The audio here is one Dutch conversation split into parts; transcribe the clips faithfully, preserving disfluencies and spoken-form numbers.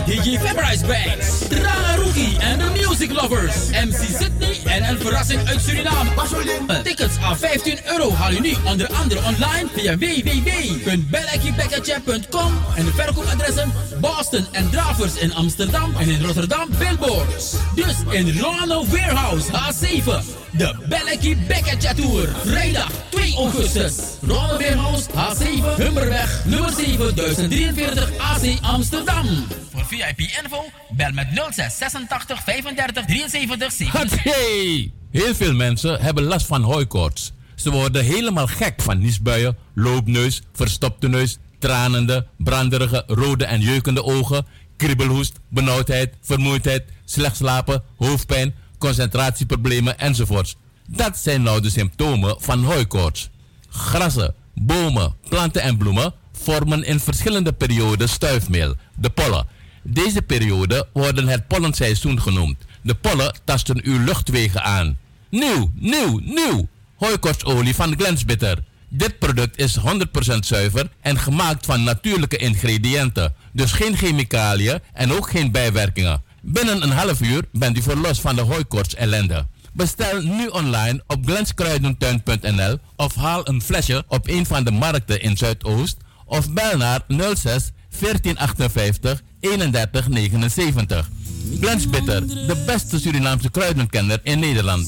D J Fabrice Banks, Rana Rookie en de Music Lovers, M C Sydney en een verrassing uit Suriname. Uh, tickets aan vijftien euro haal je nu onder andere online via w w w punt bellekibekkertje punt com en de verkoopadressen Boston en Dravers in Amsterdam en in Rotterdam Billboards. Dus in Rolando Warehouse H zeven, de Belleki Bekkertje Tour. Vrijdag twee augustus. Rolando Warehouse H zeven, Humberweg, nummer zeven, duizend drieënveertig A C Amsterdam. Voor V I P-info bel met nul zes zesentachtig vijfendertig drieënzeventig zevenenzeventig. Hey! Heel veel mensen hebben last van hooikoorts. Ze worden helemaal gek van niesbuien, loopneus, verstopte neus, tranende, branderige, rode en jeukende ogen, kriebelhoest, benauwdheid, vermoeidheid, slecht slapen, hoofdpijn, concentratieproblemen enzovoorts. Dat zijn nou de symptomen van hooikoorts. Grassen, bomen, planten en bloemen vormen in verschillende perioden stuifmeel, de pollen. Deze perioden worden het pollenseizoen genoemd. De pollen tasten uw luchtwegen aan. Nieuw, nieuw, nieuw! Hooikoortsolie van Glensbitter. Dit product is honderd procent zuiver en gemaakt van natuurlijke ingrediënten. Dus geen chemicaliën en ook geen bijwerkingen. Binnen een half uur bent u verlost van de hooikoorts ellende. Bestel nu online op glenskruidentuin punt n l of haal een flesje op een van de markten in Zuidoost of bel naar nul zes veertien achtenvijftig eenendertig negenenzeventig. Glensbitter, de beste Surinaamse kruidenkenner in Nederland.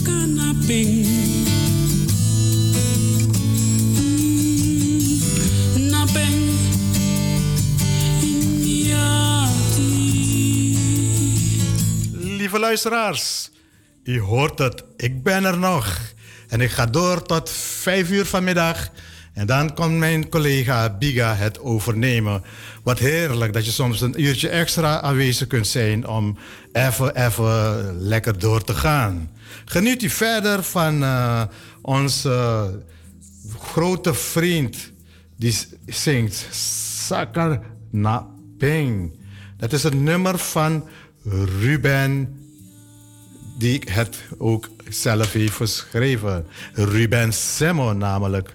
Lieve luisteraars, u hoort het, ik ben er nog. En ik ga door tot vijf uur vanmiddag. En dan komt mijn collega Biga het overnemen. Wat heerlijk dat je soms een uurtje extra aanwezig kunt zijn om even, even lekker door te gaan. Geniet u verder van uh, onze grote vriend die zingt Sakar na Ping. Dat is het nummer van Ruben, die het ook zelf heeft geschreven. Ruben Semo namelijk.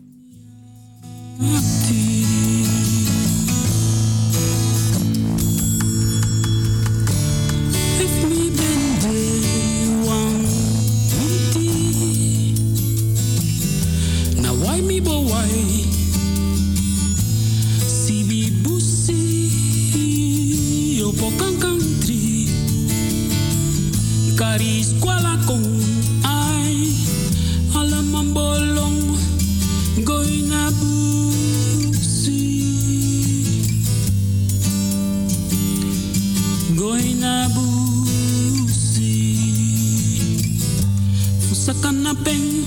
Karis kwala kong ay alam bolong goy na busi goy na busi fusakan na peng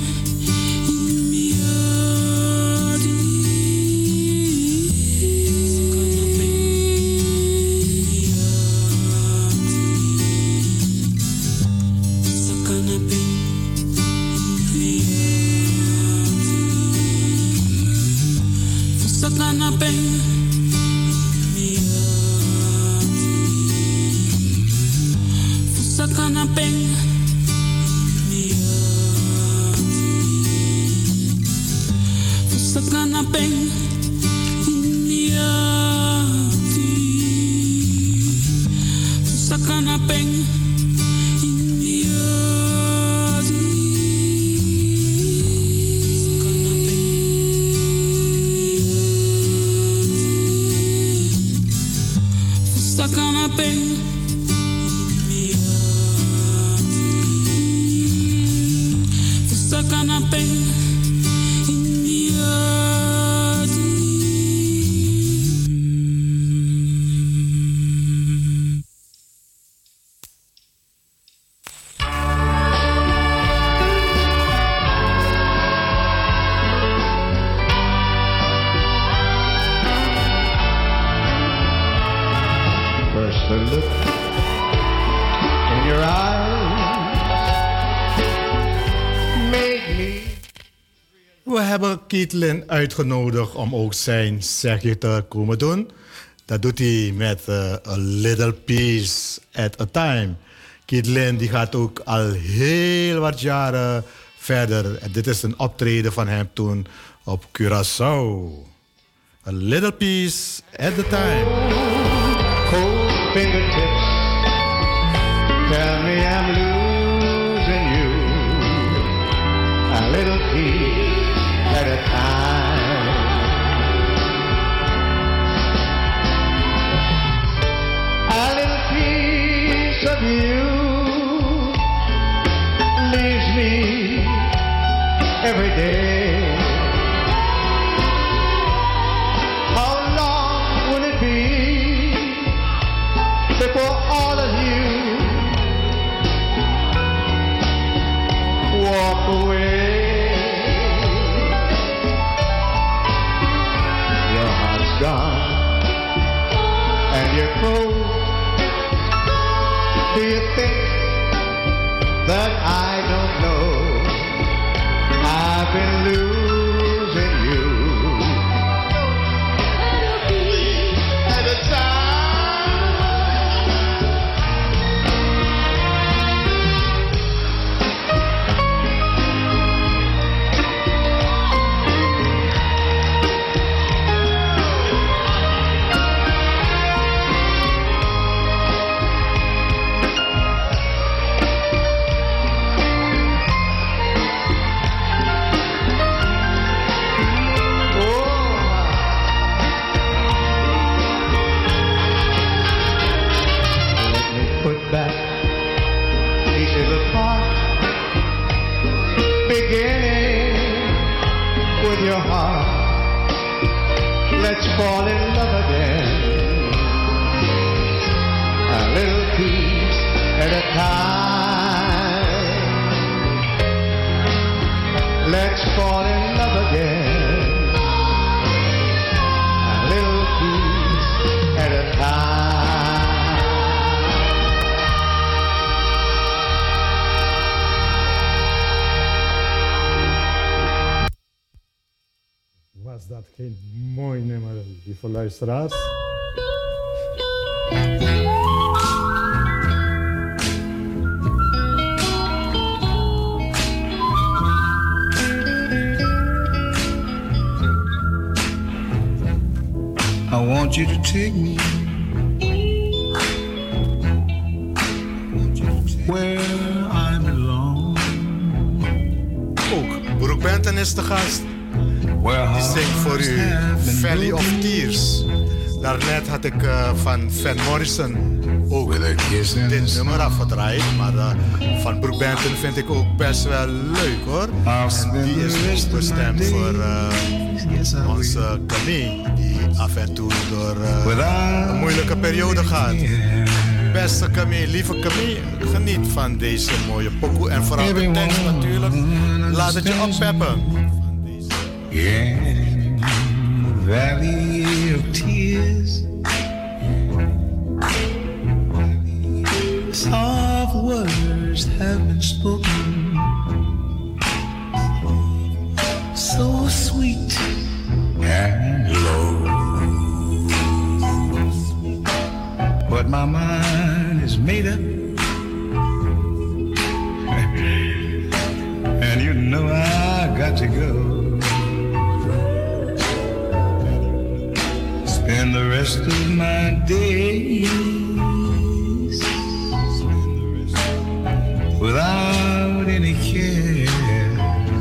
Caitlin uitgenodigd om ook zijn zegje te komen doen. Dat doet hij met uh, A Little Piece at a Time. Caitlin die gaat ook al heel wat jaren verder. En dit is een optreden van hem toen op Curaçao. A Little Piece at a Time. Cold. fingertips tell me I'm losing you, a little piece at a time. A little piece of you leaves me every day. How long will it be before all of you walk away? Your heart's gone and you're cold. Do you think that I don't know I've been losing you at a time? Your heart, let's fall in love again, a little piece at a time. Let's fall in love again, a little piece at a time. Was dat geen mooi nummer, lieve luisteraars? I want you to take me where I belong. Ook Broek Benton is de gast. Die zingt voor u Valley of Tears. Daarnet had ik uh, van Van Morrison ook dit nummer afgedraaid. Maar uh, van Broek Benton vind ik ook best wel leuk hoor. En die is ook bestemd voor uh, onze Camille. Die af en toe door uh, een moeilijke periode gaat. Beste Camille, lieve Camille, geniet van deze mooie pokoe. En vooral de tekst natuurlijk. Laat het je oppeppen. Yeah, valley of tears, soft words have been spoken, so sweet and low, but my mind is made up, and you know I got to go. Spend the rest of my days without any care.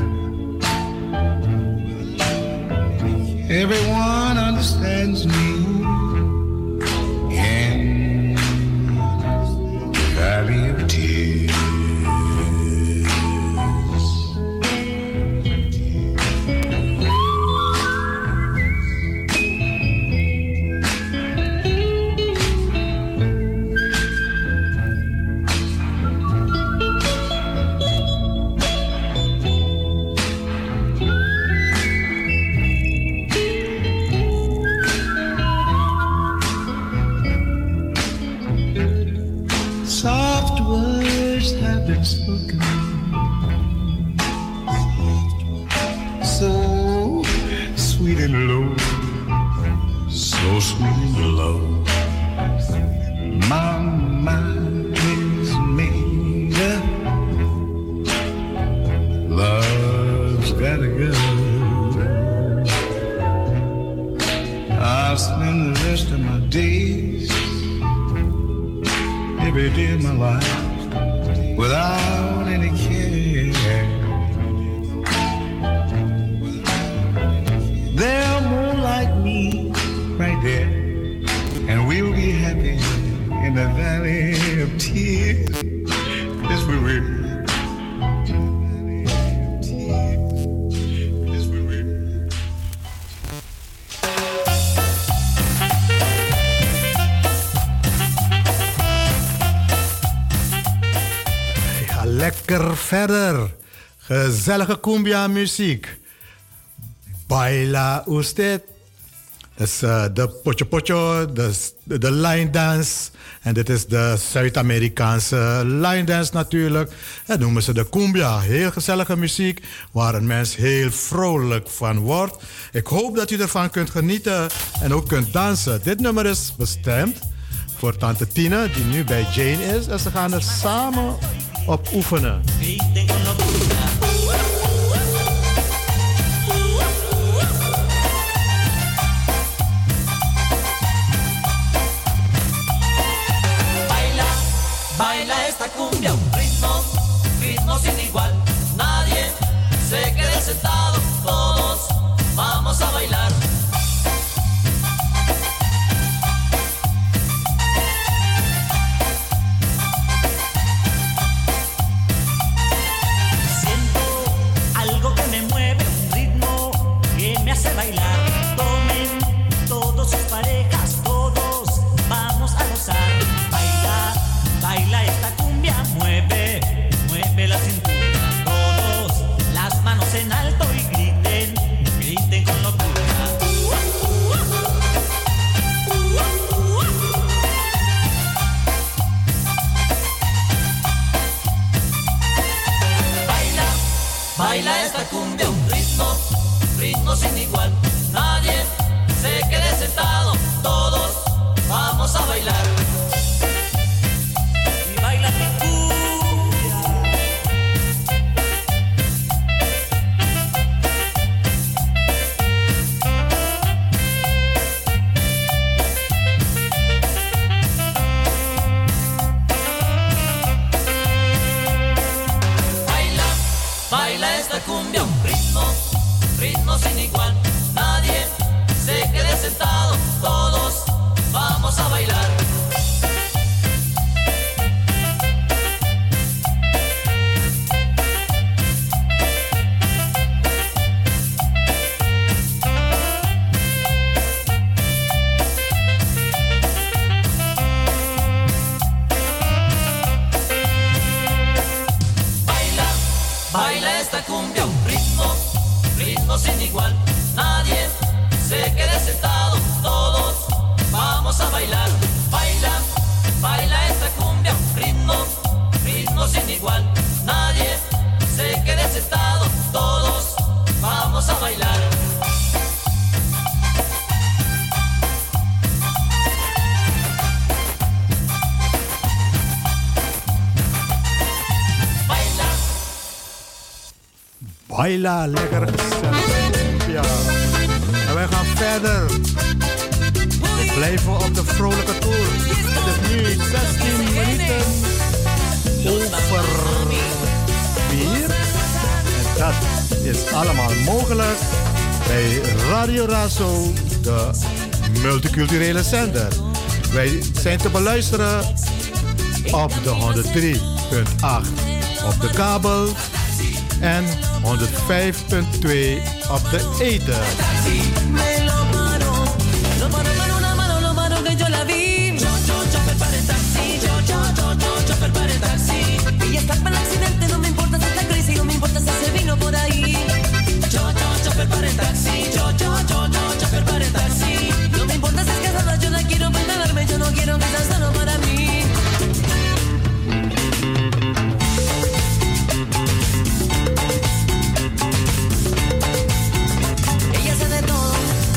Everyone understands me in the valley of tears. I'll spend the rest of my days baby, did my life without any care. They're more like me right there, and we'll be happy in the valley of tears. Yes, we will. Lekker verder. Gezellige cumbia muziek. Baila usted. Dat is uh, de pocho pocho, de, de line dance. En dit is de Zuid-Amerikaanse line dance natuurlijk. Dat noemen ze de cumbia. Heel gezellige muziek waar een mens heel vrolijk van wordt. Ik hoop dat u ervan kunt genieten en ook kunt dansen. Dit nummer is bestemd voor tante Tina die nu bij Jane is. En ze gaan er samen op oefenen. Baila, baila esta cumbia, un ritmo, ritmo sin igual. Nadie se quede sentado, todos vamos a bailar. Bailar, tomen todos sus parejas, todos vamos a gozar. Baila, baila esta cumbia, mueve, mueve la cintura. Todos las manos en alto y griten, griten con locura. Baila, baila esta cumbia, un ritmo, ritmo sin igual. Nadie se quede sentado, todos vamos a bailar. Y baila mi cumbia. Baila, baila esta cumbia, un ritmo, ritmo sin igual. Nadie se quede sentado, todos vamos a bailar. Baila, baila esta cumbia, un ritmo, ritmo sin igual. Nadie se quede sentado, todos vamos a bailar. Baila, baila esta cumbia, un ritmo, ritmo sin igual. Nadie se quede sentado, todos vamos a bailar. Baila, Baila, lekker gezellig. Ja. En wij gaan verder. We blijven op de vrolijke toer. Het is nu zestien minuten over vier. En dat is allemaal mogelijk bij Radio Razo, de multiculturele zender. Wij zijn te beluisteren op de honderd drie punt acht op de kabel en honderdvijf punt twee op de ether. Ella hace de todo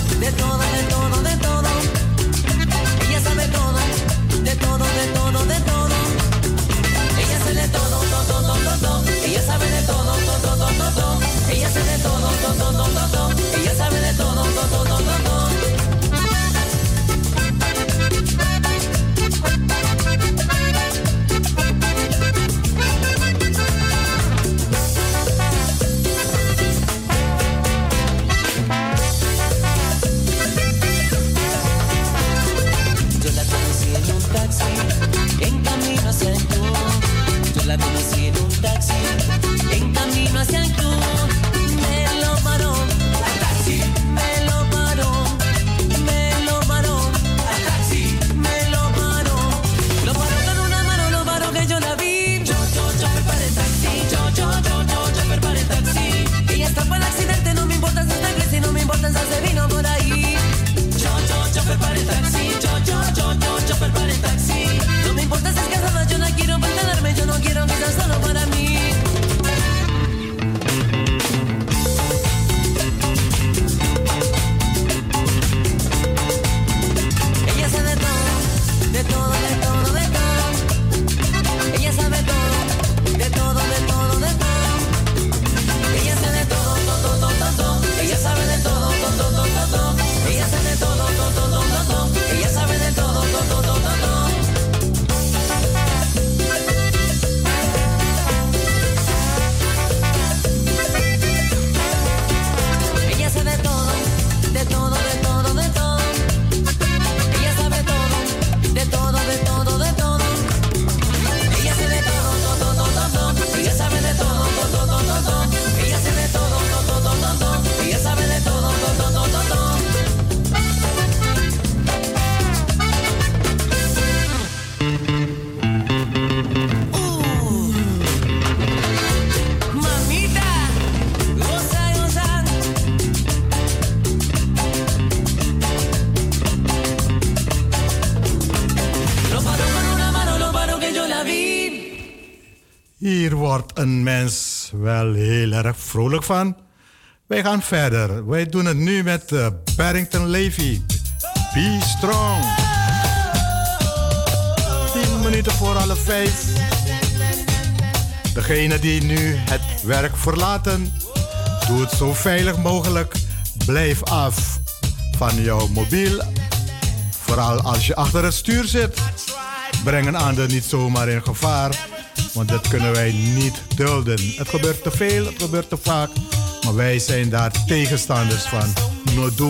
Hier wordt een mens wel heel erg vrolijk van. Wij gaan verder. Wij doen het nu met uh, Barrington Levy. Be strong. Tien minuten voor alle vijf. Degene die nu het werk verlaten, doe het zo veilig mogelijk. Blijf af van jouw mobiel. Vooral als je achter het stuur zit. Breng een ander niet zomaar in gevaar. Want dat kunnen wij niet dulden. Het gebeurt te veel, het gebeurt te vaak. Maar wij zijn daar tegenstanders van. No do.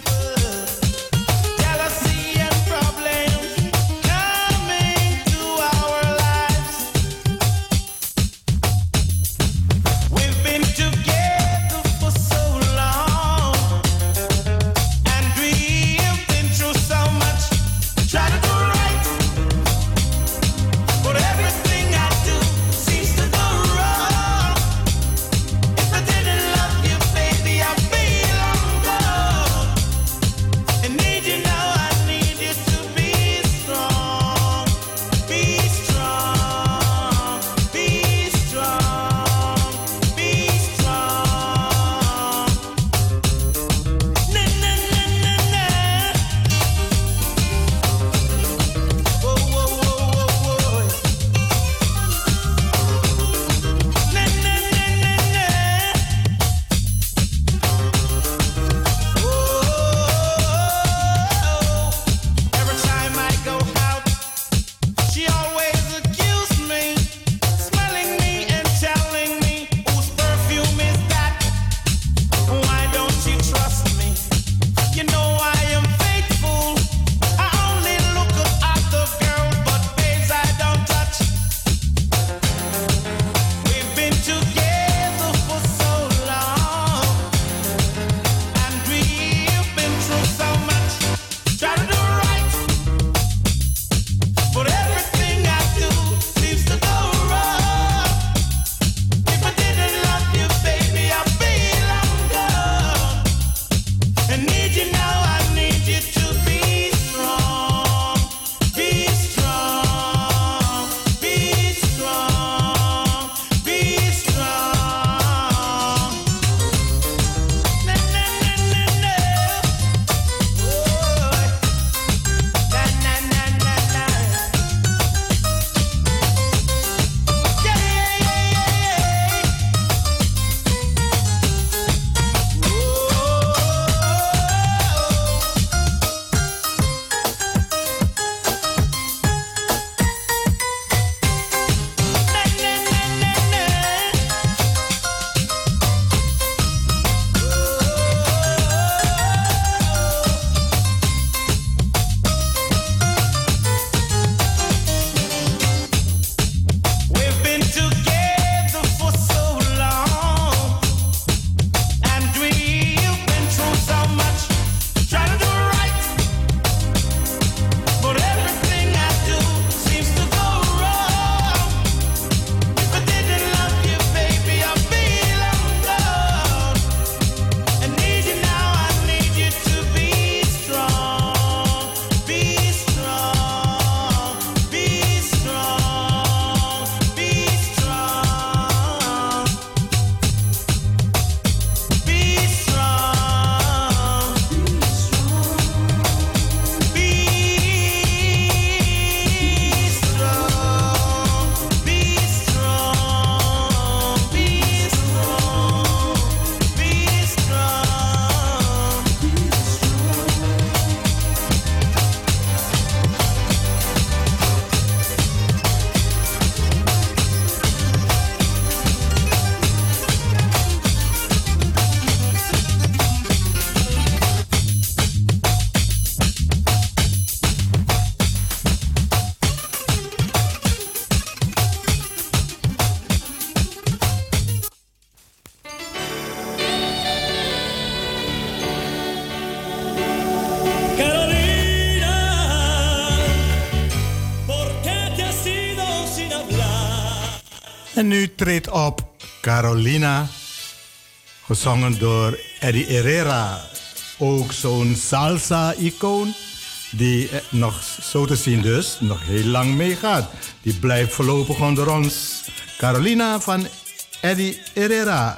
En nu treedt op Carolina, gezongen door Eddie Herrera. Ook zo'n salsa-icoon die nog zo te zien dus nog heel lang meegaat. Die blijft voorlopig onder ons. Carolina van Eddie Herrera.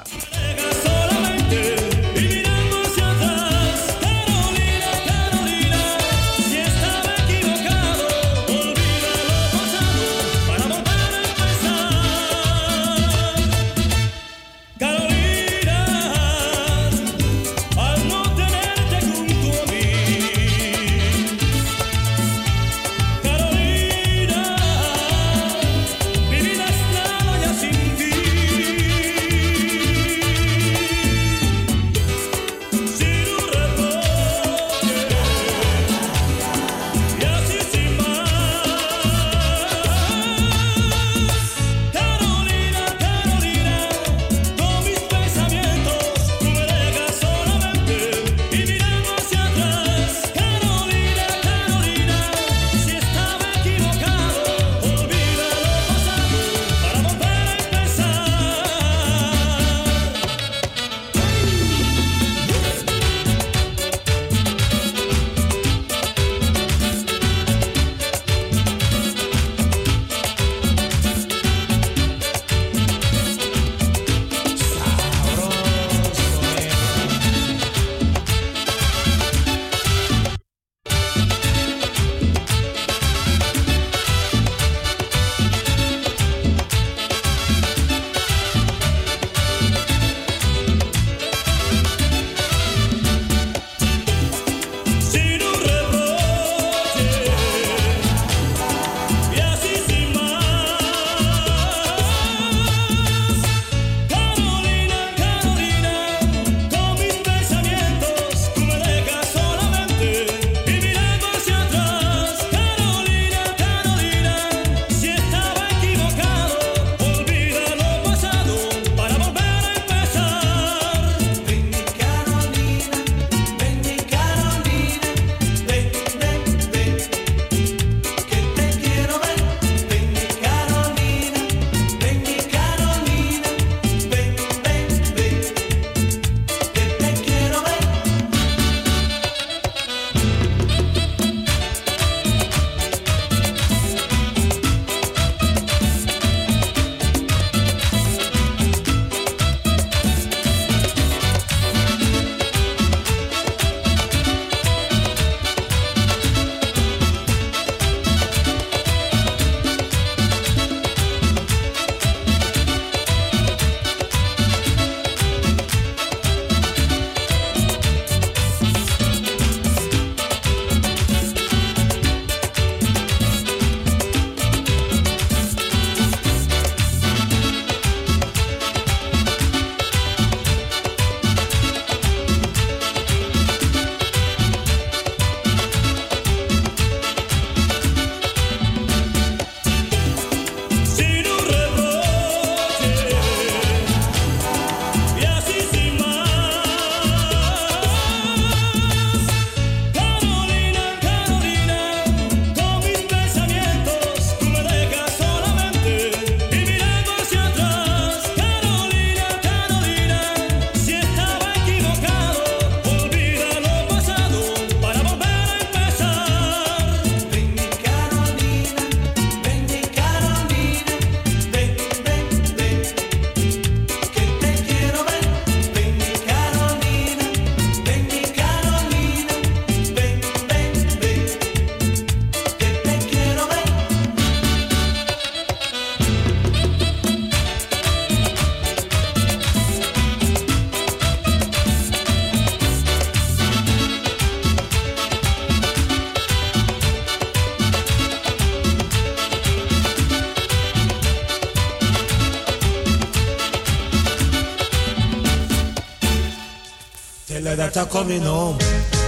that are coming home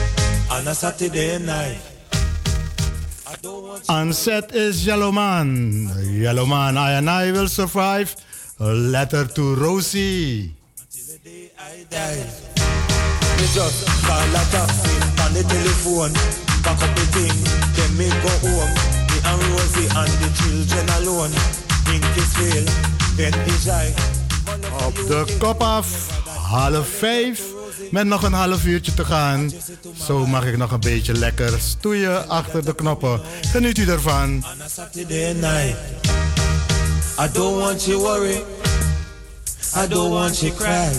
on a Saturday night. On set is Yellowman. Yellowman, I and I will survive. A letter to Rosie. Until the day I die. Me just call a taxi on the telephone. Pack up the thing, then me go home. Me and Rosie and the children alone. Ink is veel, pen is high. Op de kop af, half vijf. Met nog een half uurtje te gaan. Zo mag ik nog een beetje lekker stoeien achter de knoppen. Geniet u ervan. On a Saturday night. I don't want you worry. I don't want you cry.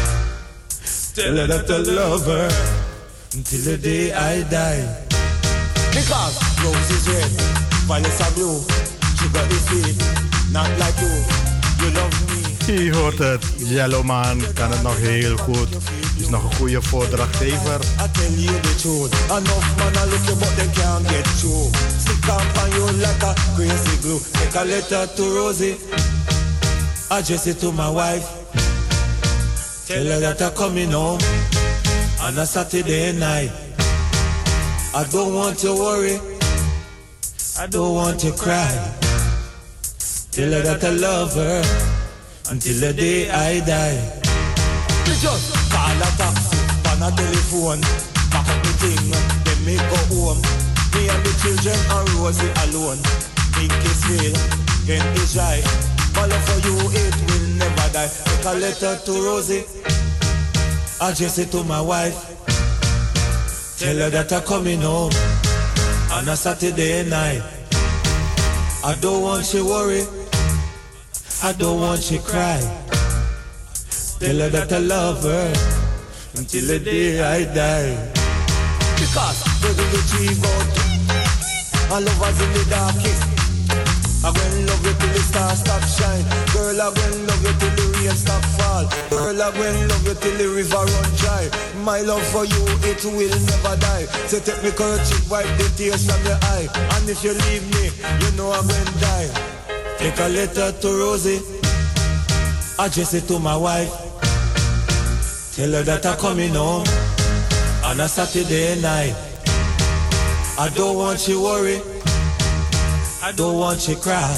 Tell her that I love her until the day I die. Because rose is red, violets are blue. Sugar is sweet, not like you. You love me. Je hoort het, Yellowman kan het nog heel goed. Is nog een goede voordrachtgever. I tell you the truth. Enough man I look you but they can't get through. Stick up on you like a crazy glue. Take a letter to Rosie. Address it to my wife. Tell her that I'm coming home on a Saturday night. I don't want to worry. I don't want to cry. Tell her that I love her until the day I die. We just call a taxi on a telephone. Pack up the thing, then me go home. Me and the children and Rosie alone. Think it's real, then it's right. Follow for you, it will never die. Take a letter to Rosie. Address it to my wife. Tell her that I'm coming home on a Saturday night. I don't want you worry. I don't want you cry. Tell her that I love her until the day I die. Because we're going to dream out. I love us in the darkest. I will love you till the stars stop shine. Girl, I will love you till the rain stop fall. Girl, I will love you till the river run dry. My love for you, it will never die. So take me kerchief, wipe the tears from your eye. And if you leave me, you know I'm going to die. Take a letter to Rosie. Address it to my wife. Tell her that I'm coming home on a Saturday night. I don't want you worry. I don't want you cry.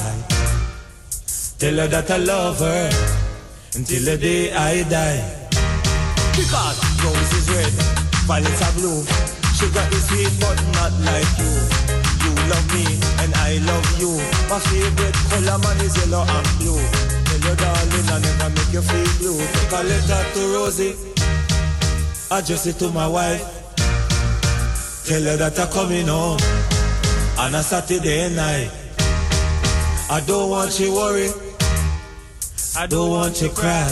Tell her that I love her until the day I die. Because rose is red, violets are blue. Sugar is sweet but not like you. You love me and I love you. My favorite color man is yellow and blue. Tell your darling I never make you feel blue. Take a letter to Rosie. Address it to my wife. Tell her that I'm coming home on a Saturday night. I don't want you worry. I don't want you cry.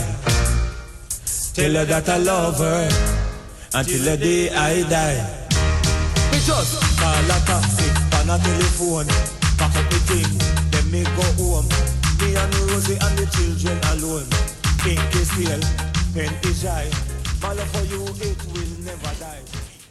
Tell her that I love her until the day I die. We just call a taxi on a telephone. Pack up the thing, then me go home. Me and Rosie and the children alone. Think is real, pen is shy. My love for you, it will never die.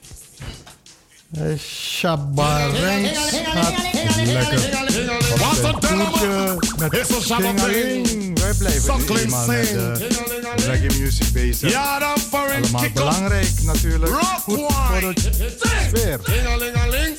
Shabba Ranks gaat lekker op zijn toertje met Tingeling. Wij blijven eenmaal met de reggae music bezig. Allemaal belangrijk natuurlijk. Goed voor de sfeer. Tingelingeling.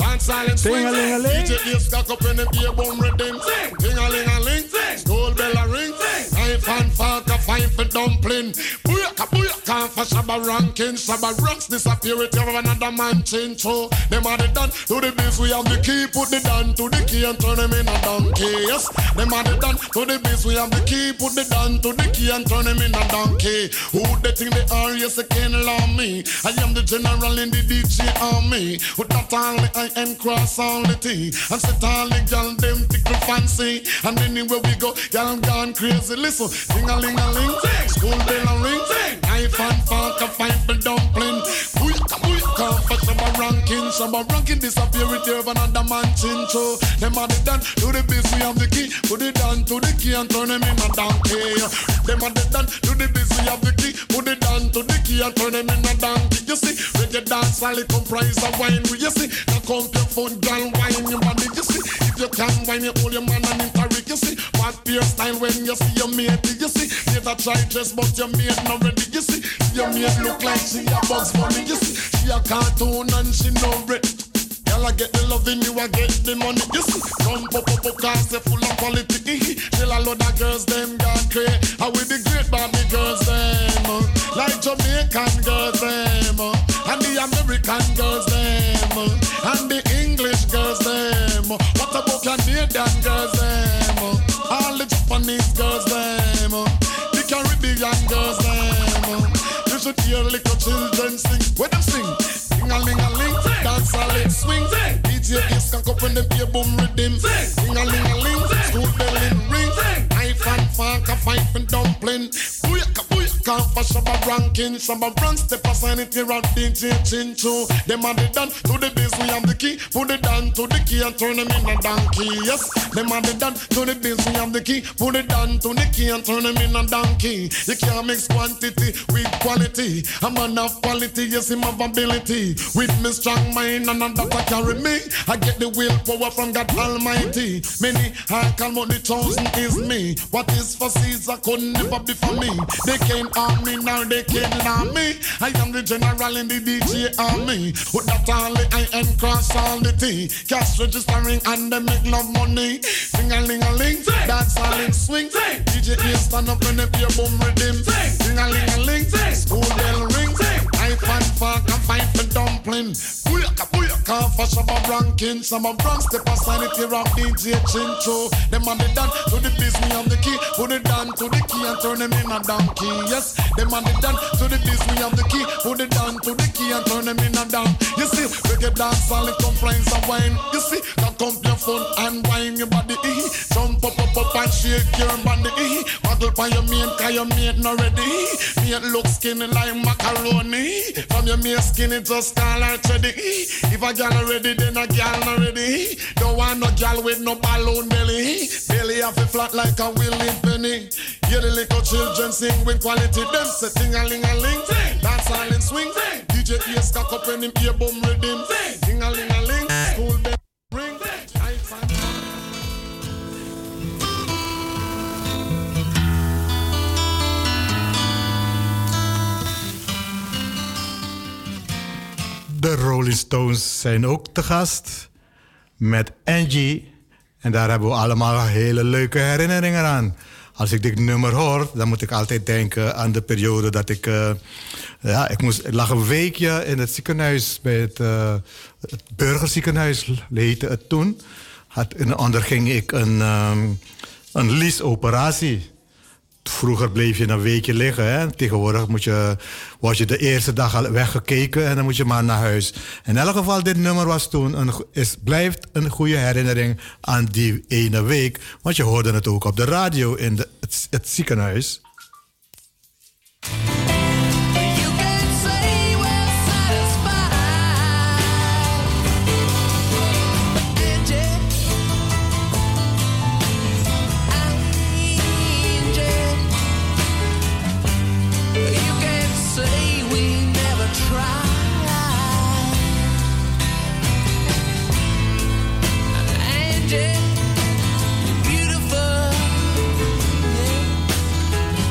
Tingelingeling. School bell a ring. Knife and fork a fine for dumpling. Booyaka booyaka for Shabba Rankin. Shabba Ranks disappear with you another man change. So them are the done to the biz. We have the key, put the down to the key and turn them in a donkey. Yes, them are the done to the biz. We have the key, put the down to the key and turn them in a donkey. Who they think they are? Yes, they can't allow me. I am the general in the D J army. With that only I and cross all the T. And set all the gal them tickle fancy. And anywhere we go, gal gone crazy. Listen, ding-a-ling-a-ling, school bell a ring, knife and fork a fight for dumpling. Booyaka booyaka for Shabba Rankin. Shabba Rankin disappear with you another man chin. So them are the done to the biz. We have the key, put it down to the key and turn them in a donkey. Them are the done to the biz. We have the key, put it down to the key and turn them in a donkey. You see, reggae dance all it comprise of wine. You see, now come your foot, girl, wine your body. You see, if you can wine, you hold your man and interrick. You see, what your style when you see your mate. You see, there's a try dress but your mate not ready. You see, your mate look like she a Bugs Bunny. You see, she a cartoon and she no bread. Girl, I get the loving, you I get the money. You see, come pop up up cause they full of quality. Till a lot of girls them gone crazy. How with the great Barbie girls them, uh, like Jamaican girls them, uh, and the American girls them, uh, and the English girls them. Uh, what about Canadian girls them? Uh, all the Japanese girls them, uh, the Caribbean girls them. Uh, you should hear little children sing. When them sing, ding-a-ling-a-ling, dance a leg swing. D J is can up when them play boom rhythm. Ding-a-ling-a-ling, school bell in ring. come for Shabba ranking. Shabba rank step aside it here at D J Chincho. Them are the done to the bass, we have the key. Put it down to the key and turn them in a donkey. Yes, them are the done to the bass, we have the key. Put it down to the key and turn them in a donkey. You can't mix quantity with quality. A man of quality, yes, him have ability. With me strong mind and that I carry me. I get the willpower from God Almighty. Many I call but the chosen is me. What is for Caesar could never be for me. They can't harm me, now they can't harm me. I am the general in the D J army. With that only I am cross all the T. Cash registering and they make love money. Sing-a-ling-a-ling, dance all in swing. D J A stand up and they play boom rhythm. Sing-a-ling-a-ling, school bell ring. I fan fuck and fight for dumpling. Booyaka, booyaka, for Shabba ranking. Some of Bronx, step aside it here of D J Chincho. Them on the done to the business of the key. Put it down to the key and turn them in a donkey. Yes, them on the done to the business of the key. Put it down to the key and turn them in a down. You see, reggae dance all it complains of wine. You see, cock up your phone and wine your body. Eh. Jump up, up, up and shake your body. Eh. Waggle by your mate, cause your mate not ready. Mate look skinny like macaroni. From your mate skinny just call her ready. If a girl ready, then a girl not ready. Don't want no girl with no balloon belly. Belly off a flat like a willing penny. Hear the little children sing with quality. Them say ting-a-ling-a-ling. Dance all in swing. D J ears cock up in him ear boom rhythm. Ting-a-ling-a-ling. School bell ring. De Rolling Stones zijn ook te gast met Angie. En daar hebben we allemaal hele leuke herinneringen aan. Als ik dit nummer hoor, dan moet ik altijd denken aan de periode dat ik... Uh, ja, ik, moest, ik lag een weekje in het ziekenhuis, bij het, uh, het burgerziekenhuis heette het toen. Had, en onderging ik een, um, een liesoperatie. Vroeger bleef je een weekje liggen. Hè? Tegenwoordig moet je, word je de eerste dag al weggekeken en dan moet je maar naar huis. In elk geval, dit nummer was toen een, is, blijft een goede herinnering aan die ene week. Want je hoorde het ook op de radio in de, het, het ziekenhuis. Beautiful, yeah.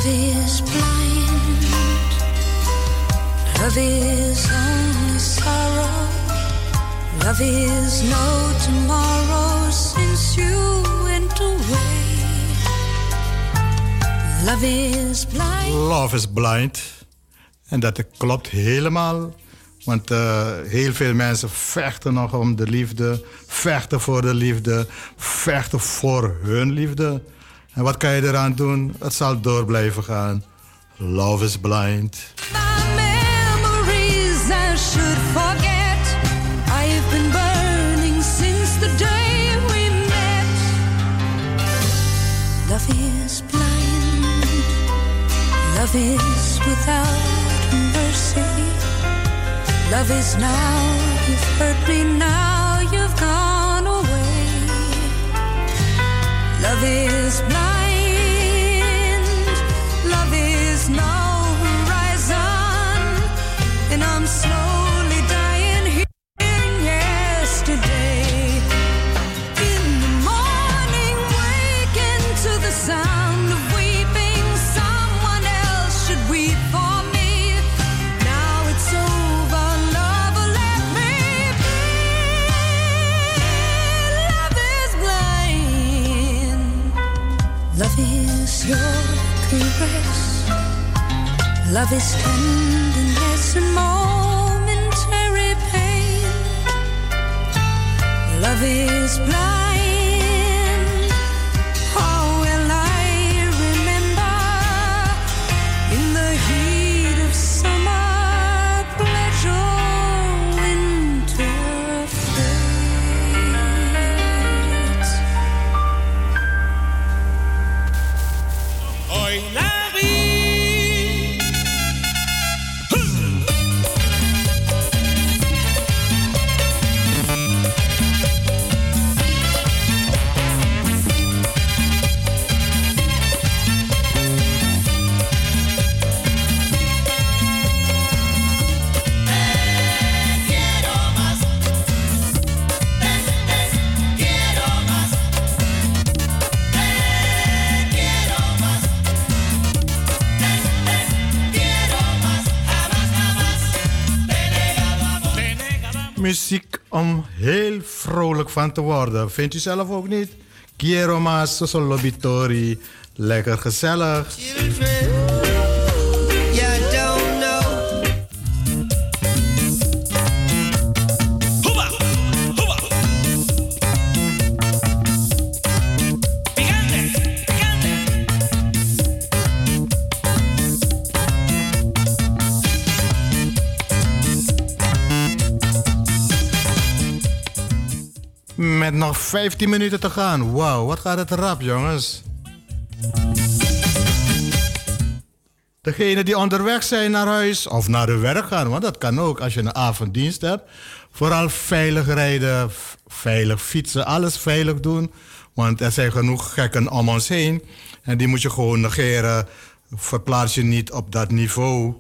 Love is blind. Love is only sorrow. Love is no tomorrow since you went away. Love is blind. Love is blind. En dat klopt helemaal. Want uh, heel veel mensen vechten nog om de liefde. Vechten voor de liefde. Vechten voor hun liefde. En wat kan je eraan doen? Het zal door blijven gaan. Love is blind. My memories I should forget. I've been burning since the day we met. Love is blind. Love is without mercy. Love is now, you've hurt me now, you've gone away. Love is blind, love is no horizon, and I'm slowly dying here in yesterday. In the morning, waking to the sound of weeping, someone else should weep for me. Now it's over, lover, let me be. Love is blind. Love is your caress. Love is tenderness and momentary pain. Love is blind. How will I remember in the heat of summer pleasure, winter fades. Oi, Larry. Muziek om heel vrolijk van te worden. Vindt u zelf ook niet? Quiero más, Soso Lobitori. Lekker gezellig. Met nog vijftien minuten te gaan. Wauw, wat gaat het rap, jongens. Degenen die onderweg zijn naar huis of naar hun werk gaan, want dat kan ook als je een avonddienst hebt. Vooral veilig rijden, veilig fietsen, alles veilig doen. Want er zijn genoeg gekken om ons heen. En die moet je gewoon negeren. Verplaats je niet op dat niveau.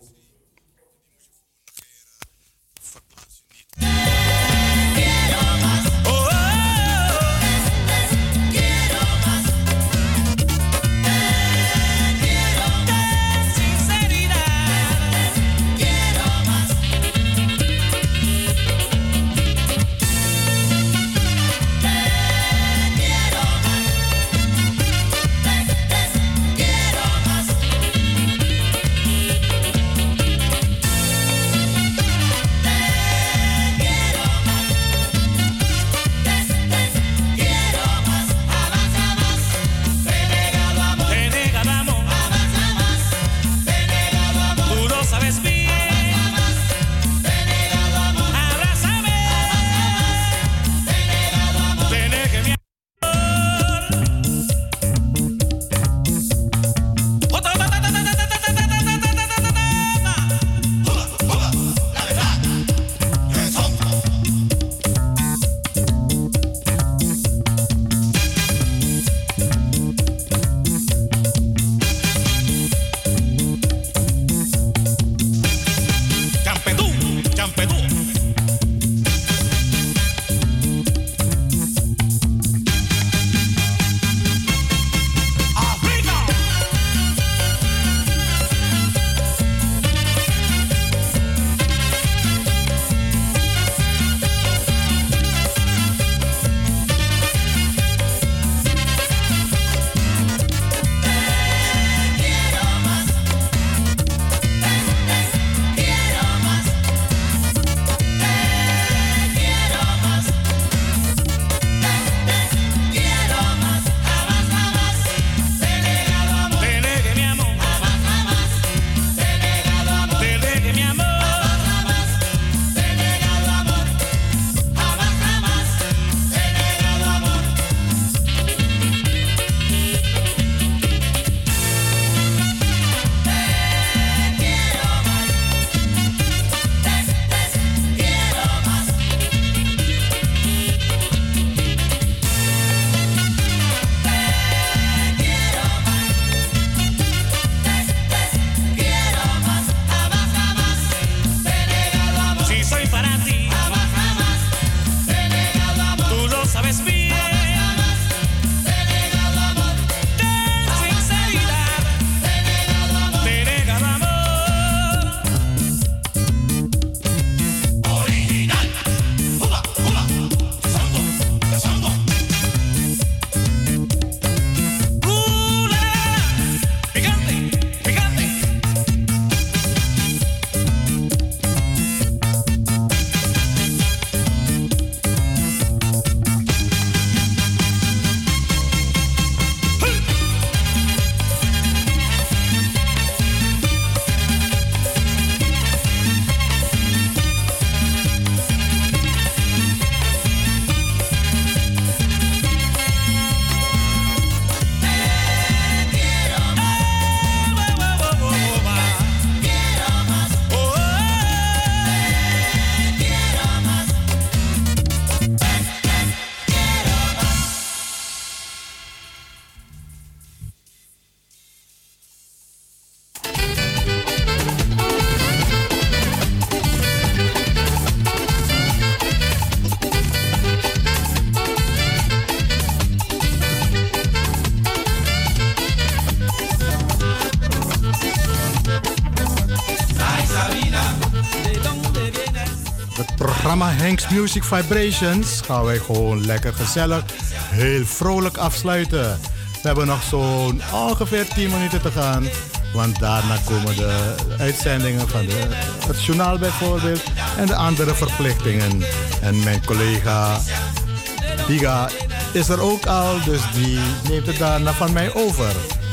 Hank's Music Vibrations gaan wij gewoon lekker gezellig, heel vrolijk afsluiten. We hebben nog zo'n ongeveer tien minuten te gaan. Want daarna komen de uitzendingen van de, het journaal bijvoorbeeld en de andere verplichtingen. En mijn collega Biga is er ook al, dus die neemt het daarna van mij over.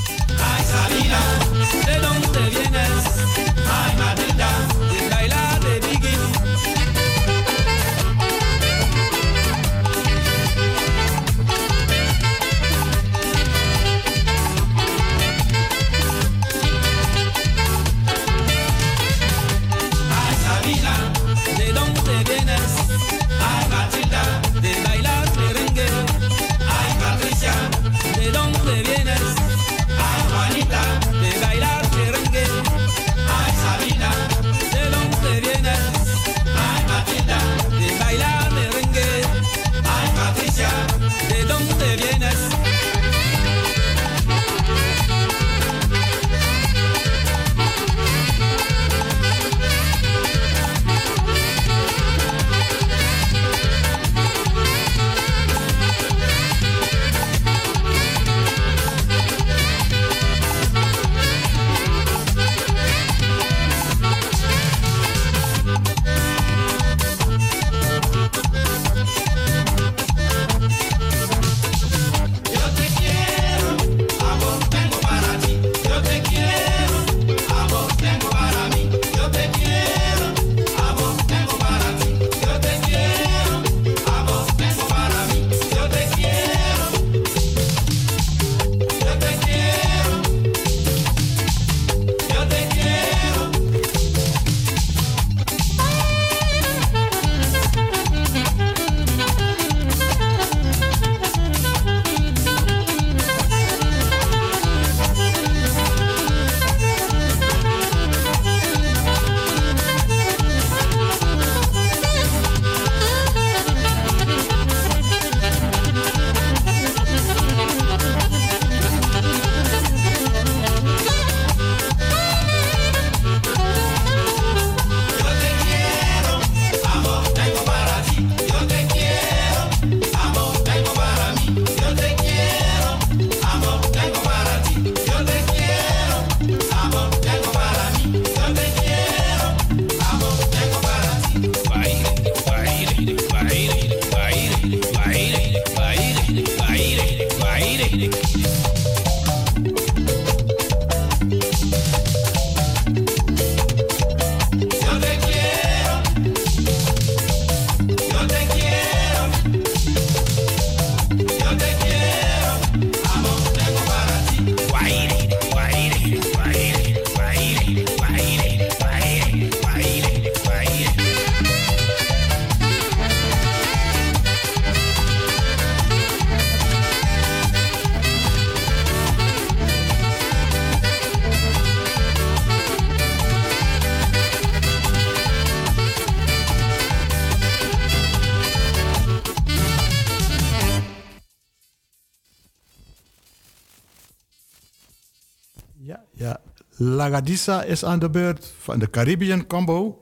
Lagadisa is aan de beurt van de Caribbean Combo.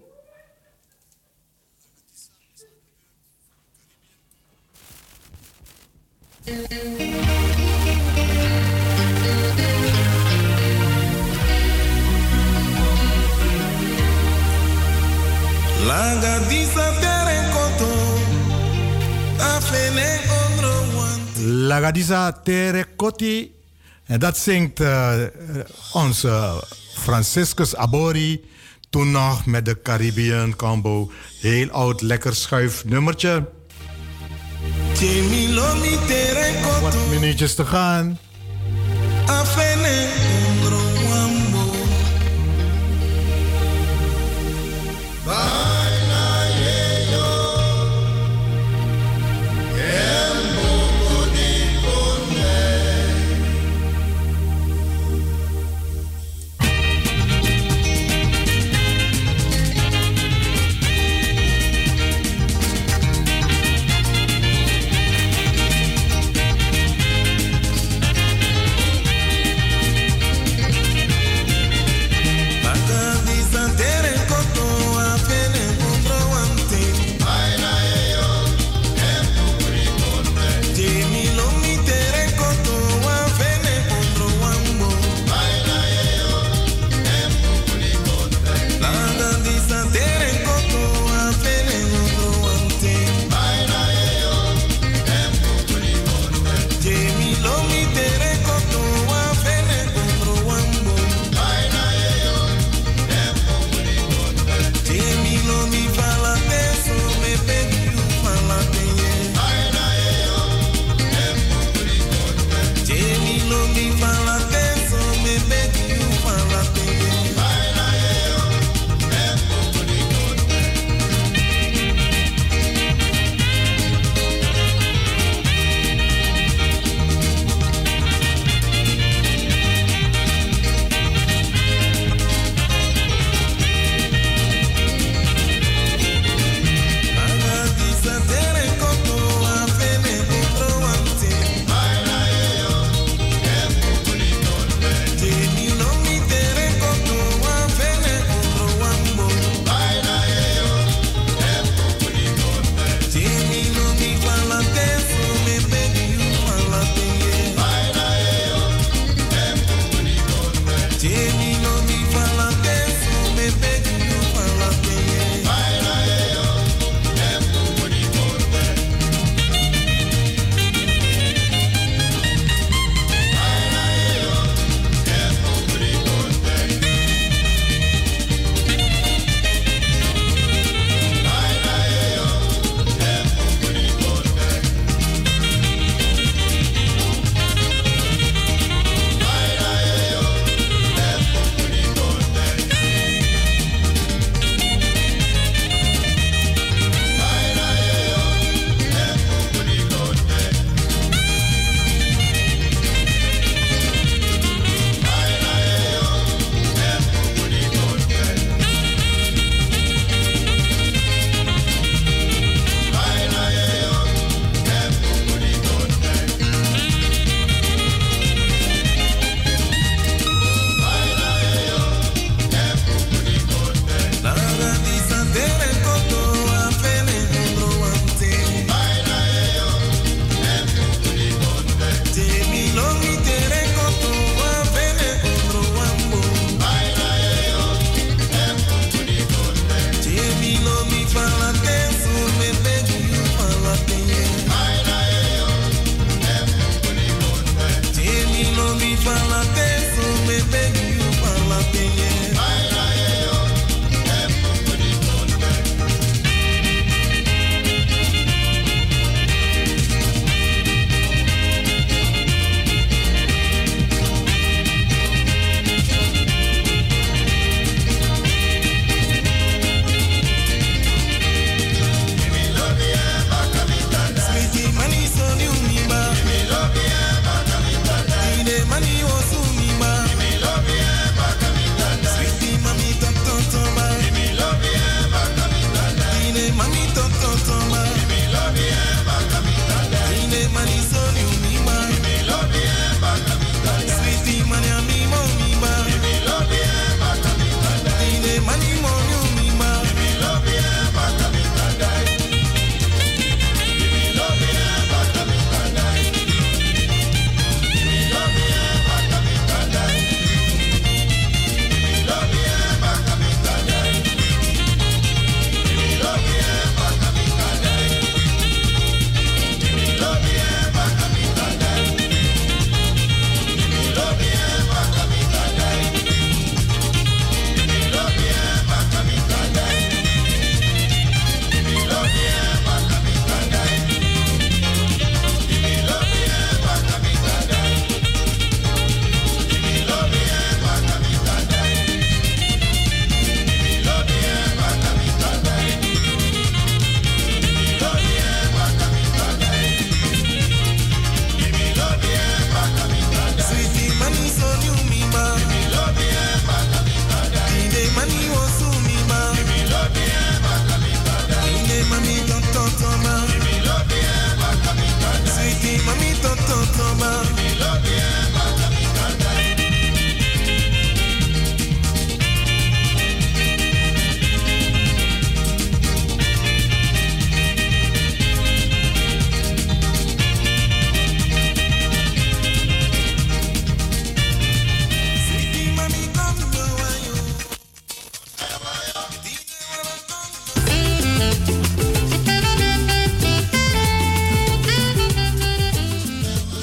Lagadisa tere koto, afene ondro. Lagadisa tere koti. En dat zingt uh, onze Franciscus Abori. Toen nog met de Caribbean Combo. Heel oud, lekker schuif nummertje. Wat minuutjes te gaan.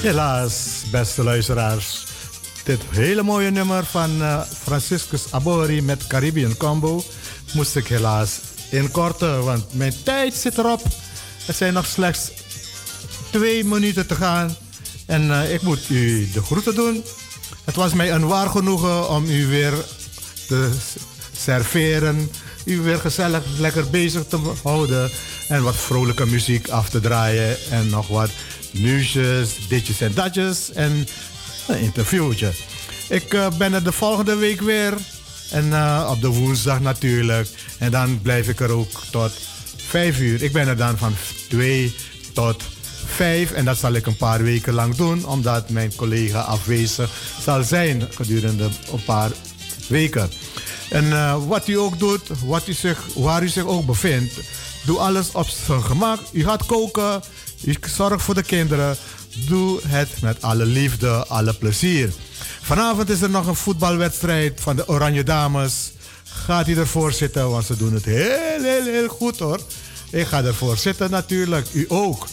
Helaas, beste luisteraars. Dit hele mooie nummer van uh, Franciscus Abori met Caribbean Combo moest ik helaas inkorten, want mijn tijd zit erop. Er zijn nog slechts twee minuten te gaan en uh, ik moet u de groeten doen. Het was mij een waar genoegen om u weer te serveren, u weer gezellig lekker bezig te houden en wat vrolijke muziek af te draaien en nog wat nieuwsjes, ditjes en datjes en een interviewtje. Ik uh, ben er de volgende week weer en uh, op de woensdag natuurlijk en dan blijf ik er ook tot vijf uur. Ik ben er dan van twee tot vijf en dat zal ik een paar weken lang doen omdat mijn collega afwezig zal zijn gedurende een paar weken. En uh, wat u ook doet, wat u zich, waar u zich ook bevindt, doe alles op zijn gemak. U gaat koken, u zorgt voor de kinderen. Doe het met alle liefde, alle plezier. Vanavond is er nog een voetbalwedstrijd van de Oranje Dames. Gaat u ervoor zitten, want ze doen het heel, heel, heel goed hoor. Ik ga ervoor zitten natuurlijk, u ook.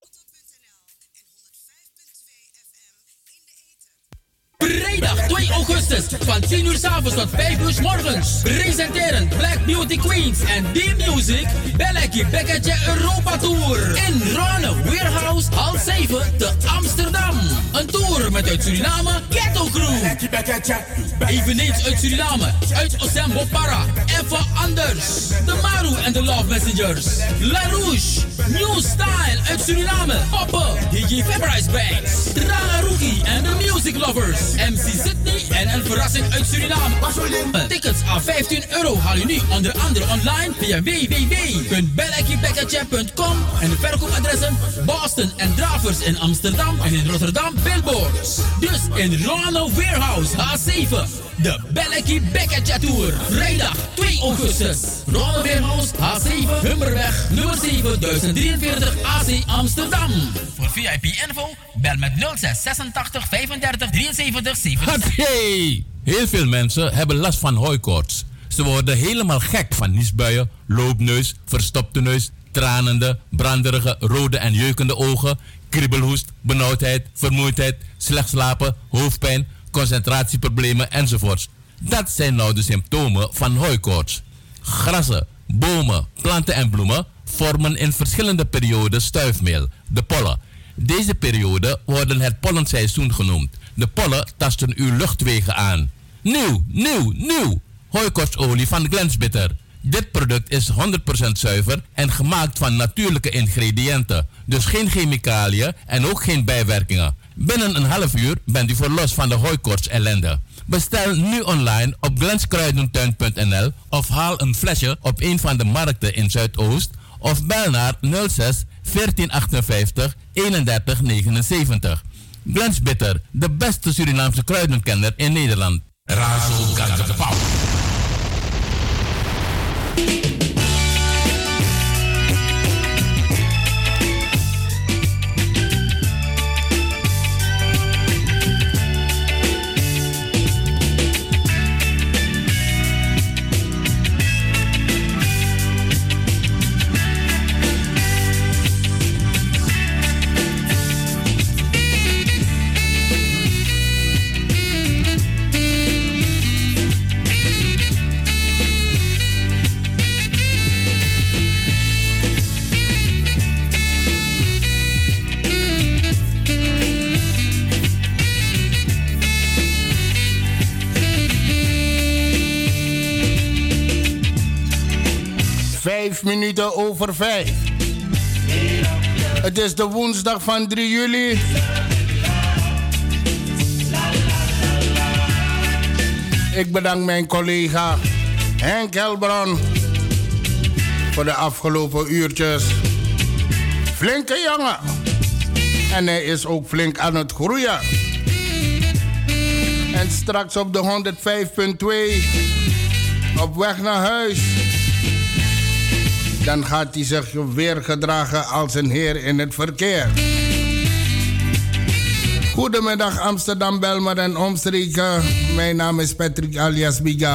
Vrijdag twee augustus van tien uur 's avonds tot vijf uur 's morgens. Presenteren Black Beauty Queens en B-Music Belleki Bekketje Europa Tour. In Ronne Warehouse, hal zeven te Amsterdam. Een tour met uit Suriname Ghetto Crew. Eveneens uit Suriname, uit Osembo Para. Even anders. De Maru en de Love Messengers. La Rouge, New Style uit Suriname. Poppen, D J Fabrice Banks. Draga Rookie en de Music Lovers. M C Sydney en een verrassing uit Suriname. Tickets aan vijftien euro haal je nu onder andere online via w w w punt belleki bekketje punt com en de verkoopadressen Boston en Dravers in Amsterdam en in Rotterdam Billboards. Dus in Ronald Warehouse H zeven, de Belleki Bekketje Tour. Vrijdag twee augustus. Ronald Warehouse H zeven, Hummerweg, nummer zeven, duizend drieënveertig A C Amsterdam. Voor V I P info bel met nul zes zesentachtig vijfendertig drieënzeventig zevenenzeventig. Hey! Heel veel mensen hebben last van hooikoorts. Ze worden helemaal gek van niesbuien, loopneus, verstopte neus, tranende, branderige, rode en jeukende ogen, kriebelhoest, benauwdheid, vermoeidheid, slecht slapen, hoofdpijn, concentratieproblemen enzovoorts. Dat zijn nou de symptomen van hooikoorts. Grassen, bomen, planten en bloemen vormen in verschillende perioden stuifmeel, de pollen. Deze periode worden het pollenseizoen genoemd. De pollen tasten uw luchtwegen aan. Nieuw, nieuw, nieuw! Hooikoortsolie van Glensbitter. Dit product is honderd procent zuiver en gemaakt van natuurlijke ingrediënten. Dus geen chemicaliën en ook geen bijwerkingen. Binnen een half uur bent u verlost van de hooikoorts ellende. Bestel nu online op glenskruidentuin punt n l of haal een flesje op een van de markten in Zuidoost of bel naar nul zes veertien achtenvijftig eenendertig negenenzeventig. Glensbitter, de beste Surinaamse kruidenkenner in Nederland. Razo Gagapau. Vijf minuten over vijf. Het is de woensdag van drie juli. Ik bedank mijn collega Henk Helbron voor de afgelopen uurtjes. Flinke jongen. En hij is ook flink aan het groeien. En straks op de honderdvijf punt twee op weg naar huis. Dan gaat hij zich weer gedragen als een heer in het verkeer. Goedemiddag Amsterdam, Belmer en omstreken. Mijn naam is Patrick alias Biga.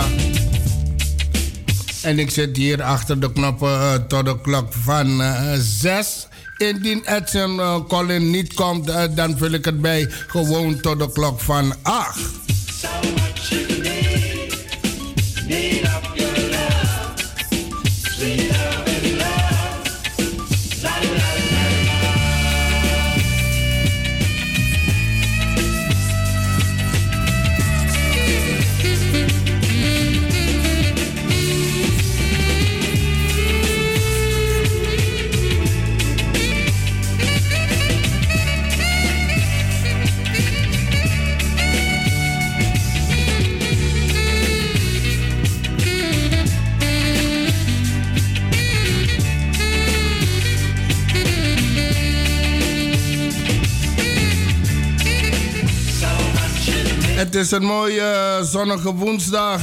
En ik zit hier achter de knoppen uh, tot de klok van uh, zes. Indien Edson uh, Colin niet komt, uh, dan vul ik het bij gewoon tot de klok van acht. Het is een mooie zonnige woensdag.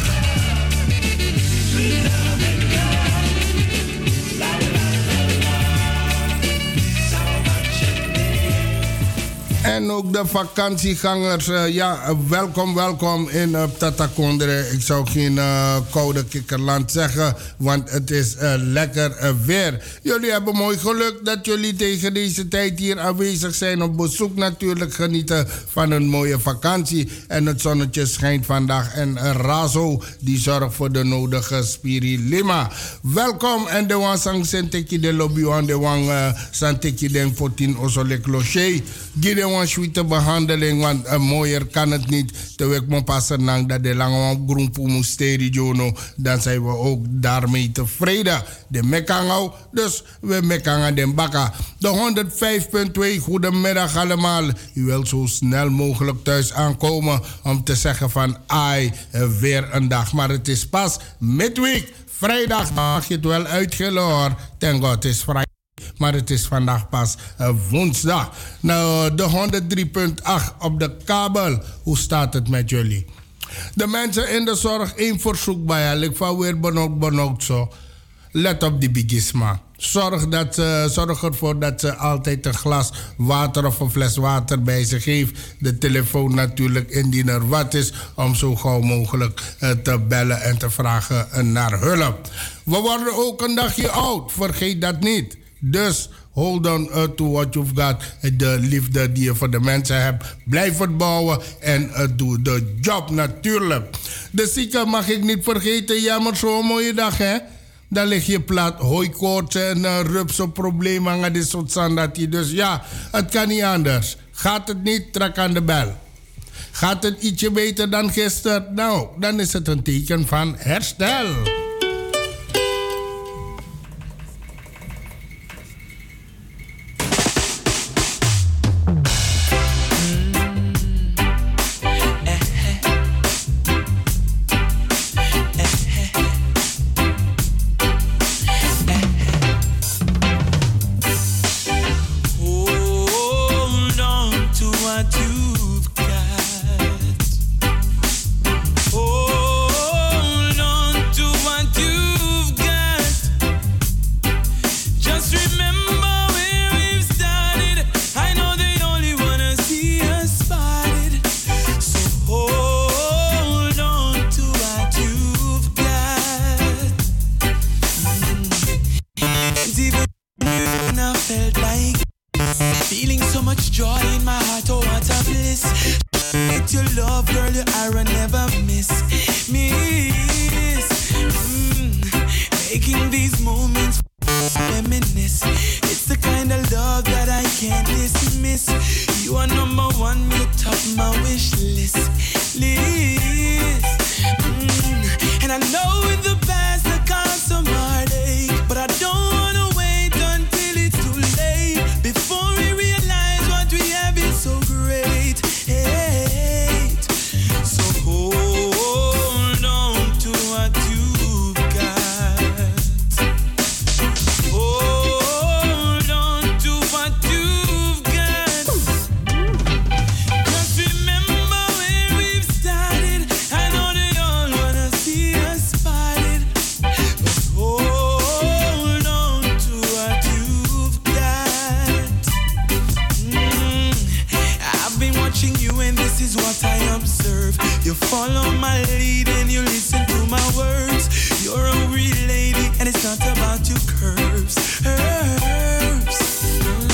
En ook de vakantiegangers, uh, ja, uh, welkom, welkom in uh, Tatakondre. Ik zou geen uh, koude kikkerland zeggen, want het is uh, lekker uh, weer. Jullie hebben mooi geluk dat jullie tegen deze tijd hier aanwezig zijn op bezoek. Natuurlijk genieten van een mooie vakantie. En het zonnetje schijnt vandaag. En uh, Razo, die zorgt voor de nodige spirilima. Welkom en de wan sang senteki de lobby aan de wan uh, santeki den fourtien osole cloché. Gide wan sweete behandeling, want uh, mooier kan het niet. Terwijl ik me passen nang dat de lange wan groenpoe moesteri jono. Dan zijn we ook daarmee tevreden. De mekangau, dus we mekangen den bakka. De honderdvijf komma twee, goedemiddag allemaal. U wilt zo snel mogelijk thuis aankomen om te zeggen van ai, uh, weer een dag. Maar het is pas midweek. Vrijdag mag je het wel uitgillen hoor. Thank God, het is vrijdag. Maar het is vandaag pas uh, woensdag. Nou, de honderd drie komma acht op de kabel. Hoe staat het met jullie? De mensen in de zorg, één verzoek bij je. Ik van weer benauwd, benauwd zo. Let op die bigisma. Zorg, dat, uh, zorg ervoor dat ze altijd een glas water of een fles water bij zich heeft. De telefoon natuurlijk indien er wat is. Om zo gauw mogelijk uh, te bellen en te vragen uh, naar hulp. We worden ook een dagje oud. Vergeet dat niet. Dus hold on uh, to what you've got. De liefde die je voor de mensen hebt. Blijf het bouwen en uh, doe de job natuurlijk. De zieken mag ik niet vergeten. Ja, maar zo'n mooie dag hè. Dan lig je plat. Hooikoorts en uh, rupsenproblemen. Dit soort sandatie. Dus ja, het kan niet anders. Gaat het niet, trek aan de bel. Gaat het ietsje beter dan gisteren? Nou, dan is het een teken van herstel. Not about your curves, curves.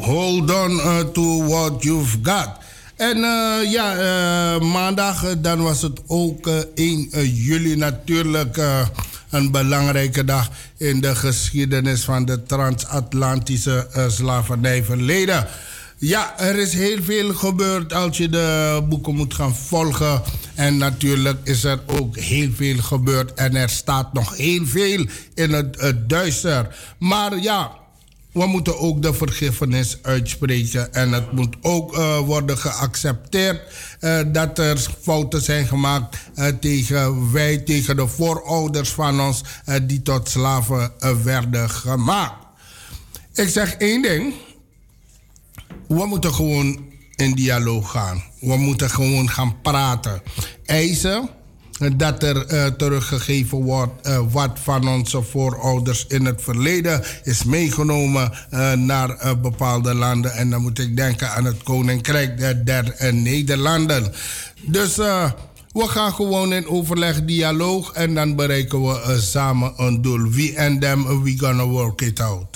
hold on uh, to what you've got. En uh, ja, uh, maandag uh, dan was het ook uh, één juli natuurlijk uh, een belangrijke dag in de geschiedenis van de transatlantische uh, slavernijverleden. Ja, er is heel veel gebeurd als je de boeken moet gaan volgen. En natuurlijk is er ook heel veel gebeurd en er staat nog heel veel in het, het duister. Maar ja, we moeten ook de vergiffenis uitspreken. En het moet ook uh, worden geaccepteerd uh, dat er fouten zijn gemaakt uh, tegen wij, tegen de voorouders van ons uh, die tot slaven uh, werden gemaakt. Ik zeg één ding. We moeten gewoon in dialoog gaan. We moeten gewoon gaan praten. Eisen dat er uh, teruggegeven wordt uh, wat van onze voorouders in het verleden is meegenomen uh, naar uh, bepaalde landen. En dan moet ik denken aan het Koninkrijk der, der uh, Nederlanden. Dus uh, we gaan gewoon in overleg, dialoog en dan bereiken we uh, samen een doel. We and them, we gonna work it out.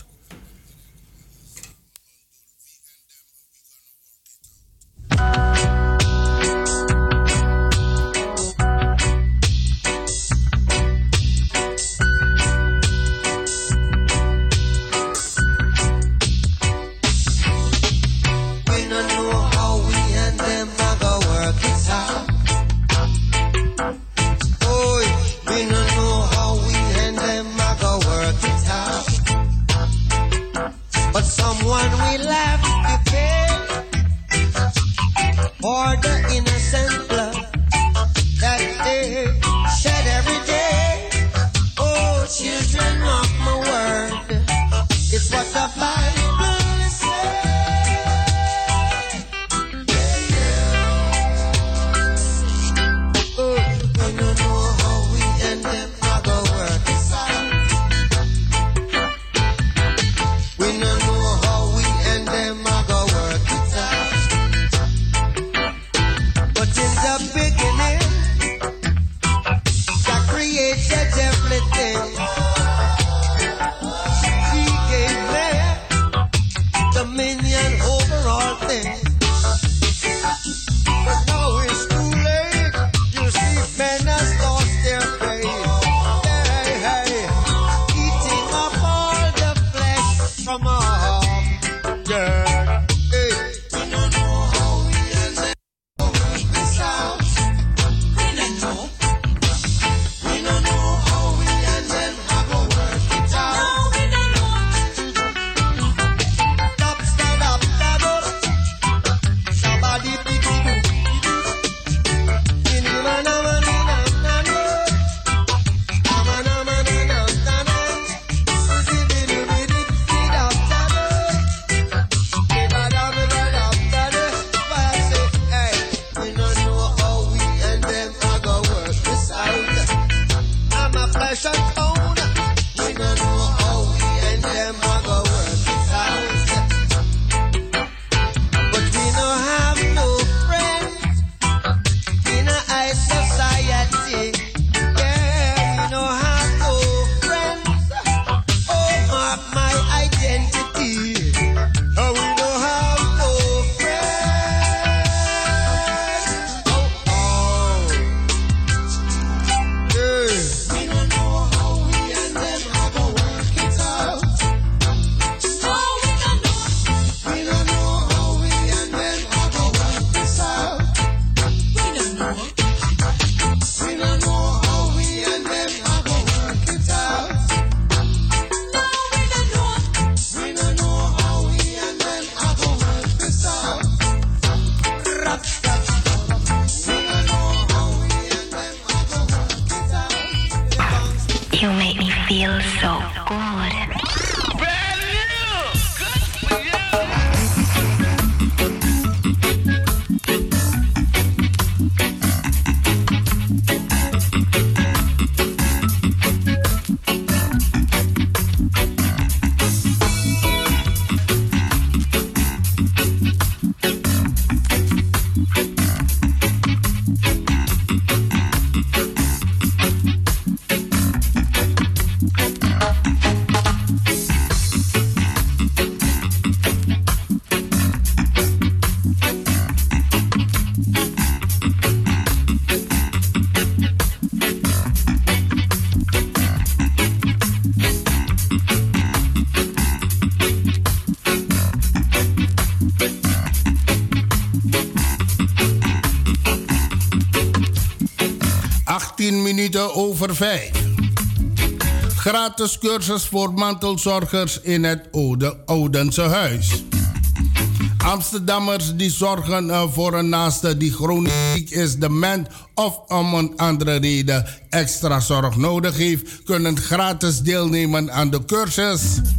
achttien minuten over vijf. Gratis cursus voor mantelzorgers in het Oude, Oudense Huis. Amsterdammers die zorgen uh, voor een naaste die chronisch ziek is, dement of om een andere reden extra zorg nodig heeft, kunnen gratis deelnemen aan de cursus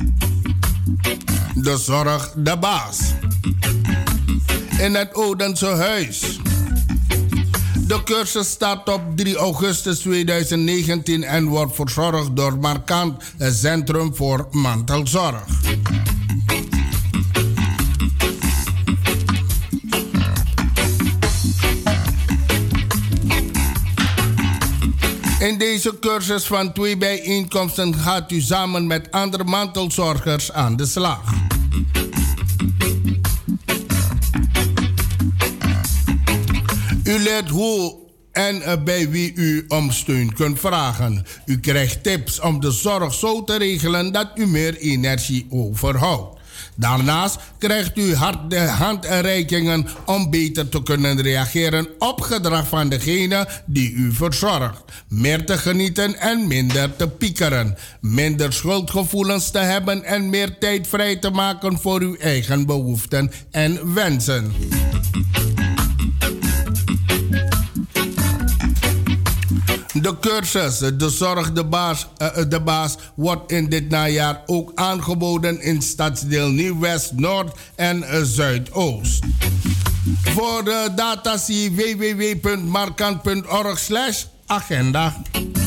De Zorg de Baas in het Oudense Huis. De cursus start op drie augustus tweeduizend negentien en wordt verzorgd door Markant, het Centrum voor Mantelzorg. In deze cursus van twee bijeenkomsten gaat u samen met andere mantelzorgers aan de slag. U leert hoe en bij wie u om steun kunt vragen. U krijgt tips om de zorg zo te regelen dat u meer energie overhoudt. Daarnaast krijgt u harde handreikingen om beter te kunnen reageren op gedrag van degene die u verzorgt. Meer te genieten en minder te piekeren. Minder schuldgevoelens te hebben en meer tijd vrij te maken voor uw eigen behoeften en wensen. De cursus De Zorg de Baas, uh, de Baas wordt in dit najaar ook aangeboden in stadsdeel Nieuw-West, Noord en uh, Zuidoost. Voor de data zie w w w punt markant punt org slash agenda.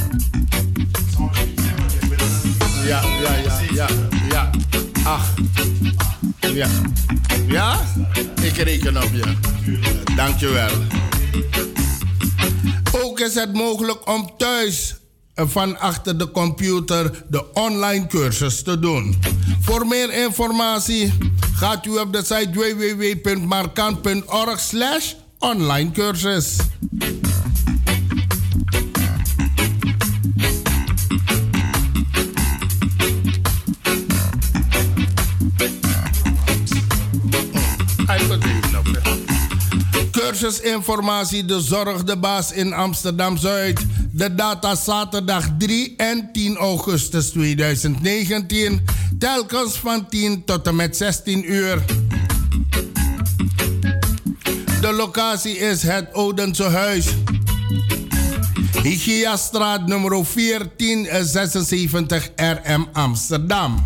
Ja, ja, ja, ja, ja. Ach. Ja. Ja? Ik reken op je. Dankjewel. Ook is het mogelijk om thuis van achter de computer de online cursus te doen. Voor meer informatie gaat u op de site w w w punt markant punt org slash online cursus. Cursusinformatie De Zorg de Baas in Amsterdam-Zuid. De data zaterdag drie en tien augustus tweeduizend negentien. Telkens van tien tot en met zestien uur. De locatie is het Oudense Huis. Hygiastraat nummer veertien zesenzeventig R M Amsterdam.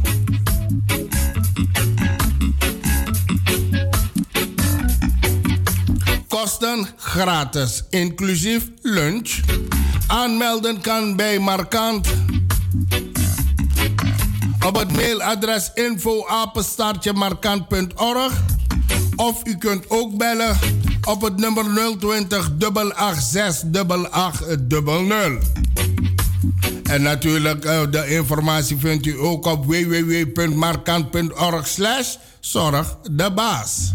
Kosten gratis, inclusief lunch. Aanmelden kan bij Markant op het mailadres info apenstaartje markant punt org of u kunt ook bellen op het nummer nul twintig acht acht zes acht acht nul nul. En natuurlijk, uh, de informatie vindt u ook op w w w punt markant punt org slash zorg de baas.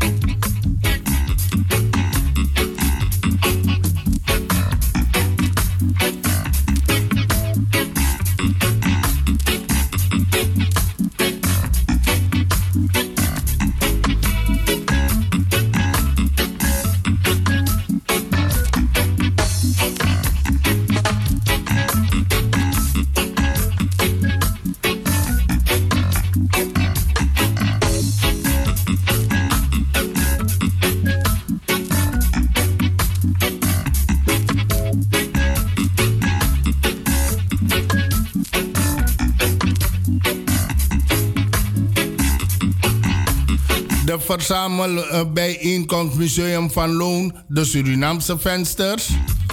De verzamelbijeenkomst Museum van Loon, de Surinaamse vensters.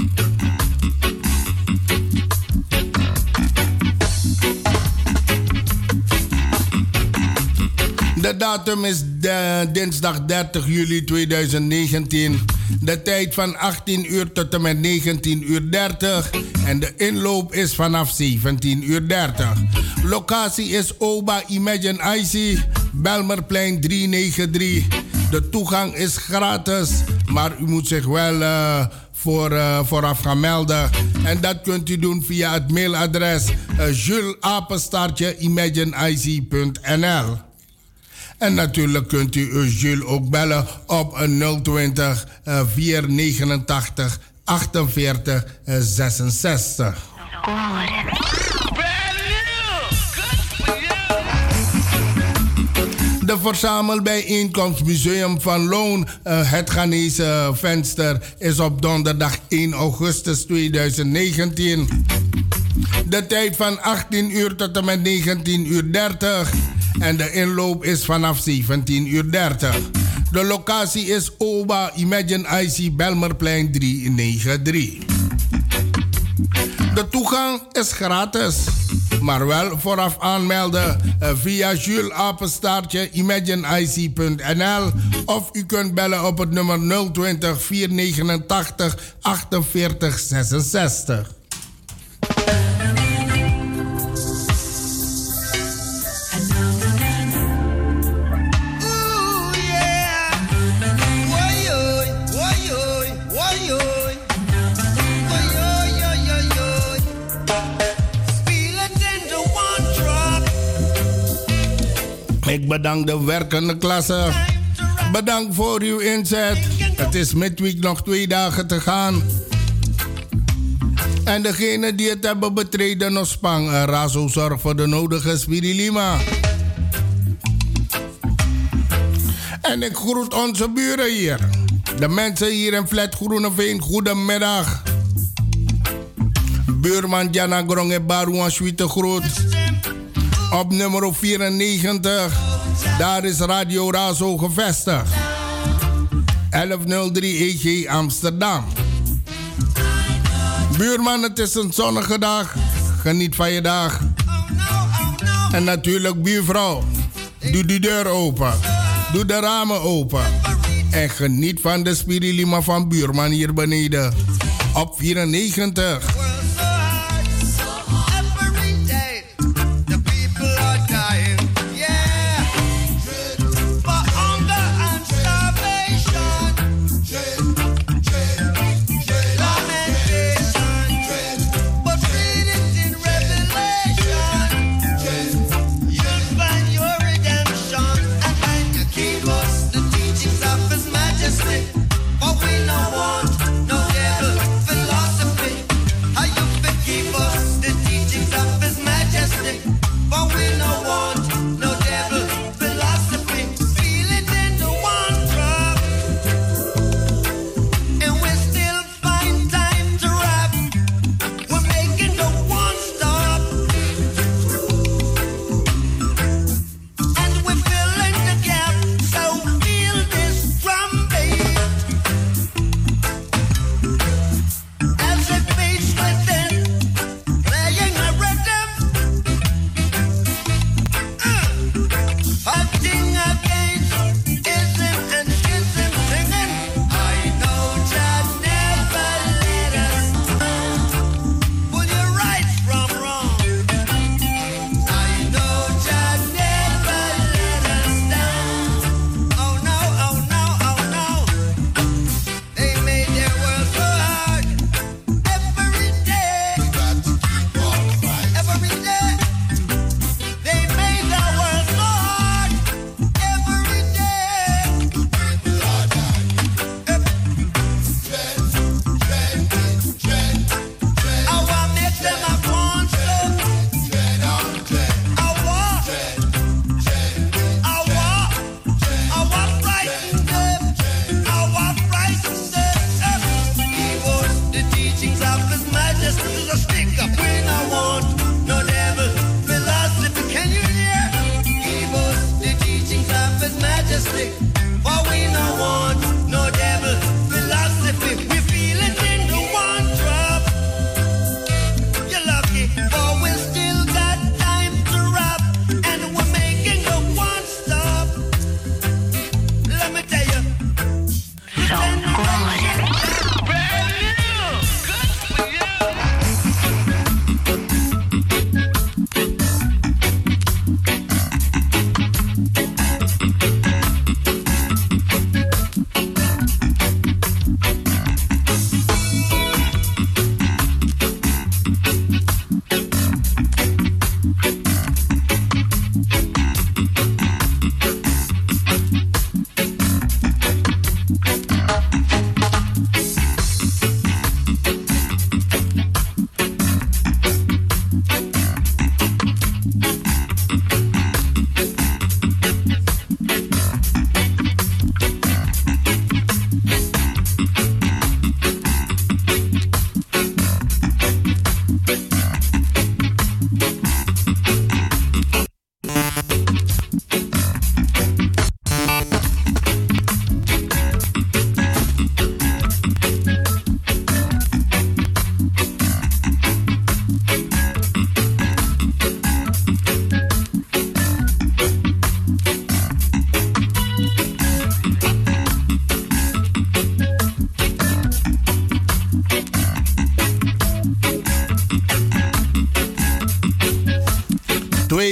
De datum is de, dinsdag dertig juli tweeduizend negentien. De tijd van achttien uur tot en met negentien uur dertig. En de inloop is vanaf zeventien uur dertig. Locatie is Oba Imagine I C, Belmerplein driehonderdnegenennegentig. De toegang is gratis, maar u moet zich wel uh, voor, uh, vooraf gaan melden. En dat kunt u doen via het mailadres uh, jules apenstaartje imagine i c punt n l. En natuurlijk kunt u uh, Jules ook bellen op uh, nul twintig uh, vierhonderdnegenentachtig achtenveertig zesenzestig. De verzamelbijeenkomstmuseum van Loon, uh, het Ghanese venster, is op donderdag één augustus tweeduizend negentien. De tijd van achttien uur tot en met negentien uur dertig. En de inloop is vanaf zeventien uur dertig. De locatie is O B A Imagine I C Belmerplein driehonderdnegenennegentig. De toegang is gratis, maar wel vooraf aanmelden via Jules Apenstaartje imagine I C punt n l of u kunt bellen op het nummer nul twintig, vierhonderdnegenentachtig, achtenveertig zesenzestig. Ik bedank de werkende klasse. Bedankt voor uw inzet. Het is midweek nog twee dagen te gaan. En degenen die het hebben betreden nog spang. Razo zorgt voor de nodige Spirilima. En ik groet onze buren hier. De mensen hier in Flat Groeneveen, goedemiddag. Buurman Jana Gronge Baruan Schwiete groet. Op nummer vierennegentig, daar is Radio Razo gevestigd. elfhonderddrie E G Amsterdam. Buurman, het is een zonnige dag. Geniet van je dag. En natuurlijk buurvrouw, doe de deur open. Doe de ramen open. En geniet van de Spirilima van buurman hier beneden. Op vierennegentig.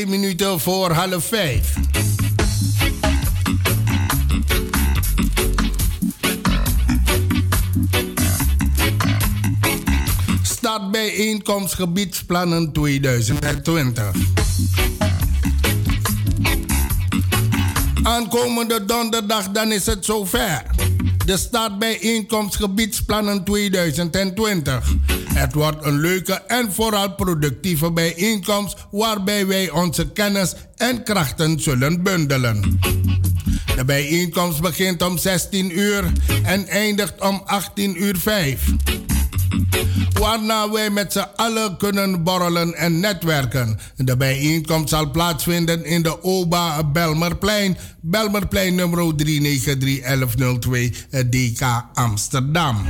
minuten voor half vijf. Startbijeenkomst gebiedsplannen tweeduizend twintig. Aankomende donderdag, dan is het zover. De startbijeenkomst gebiedsplannen tweeduizend twintig. Het wordt een leuke en vooral productieve bijeenkomst waarbij wij onze kennis en krachten zullen bundelen. De bijeenkomst begint om zestien uur en eindigt om achttien uur vijf. Waarna wij met z'n allen kunnen borrelen en netwerken. De bijeenkomst zal plaatsvinden in de Oba Belmerplein, Belmerplein nummer drie negen drie een een nul twee D K Amsterdam.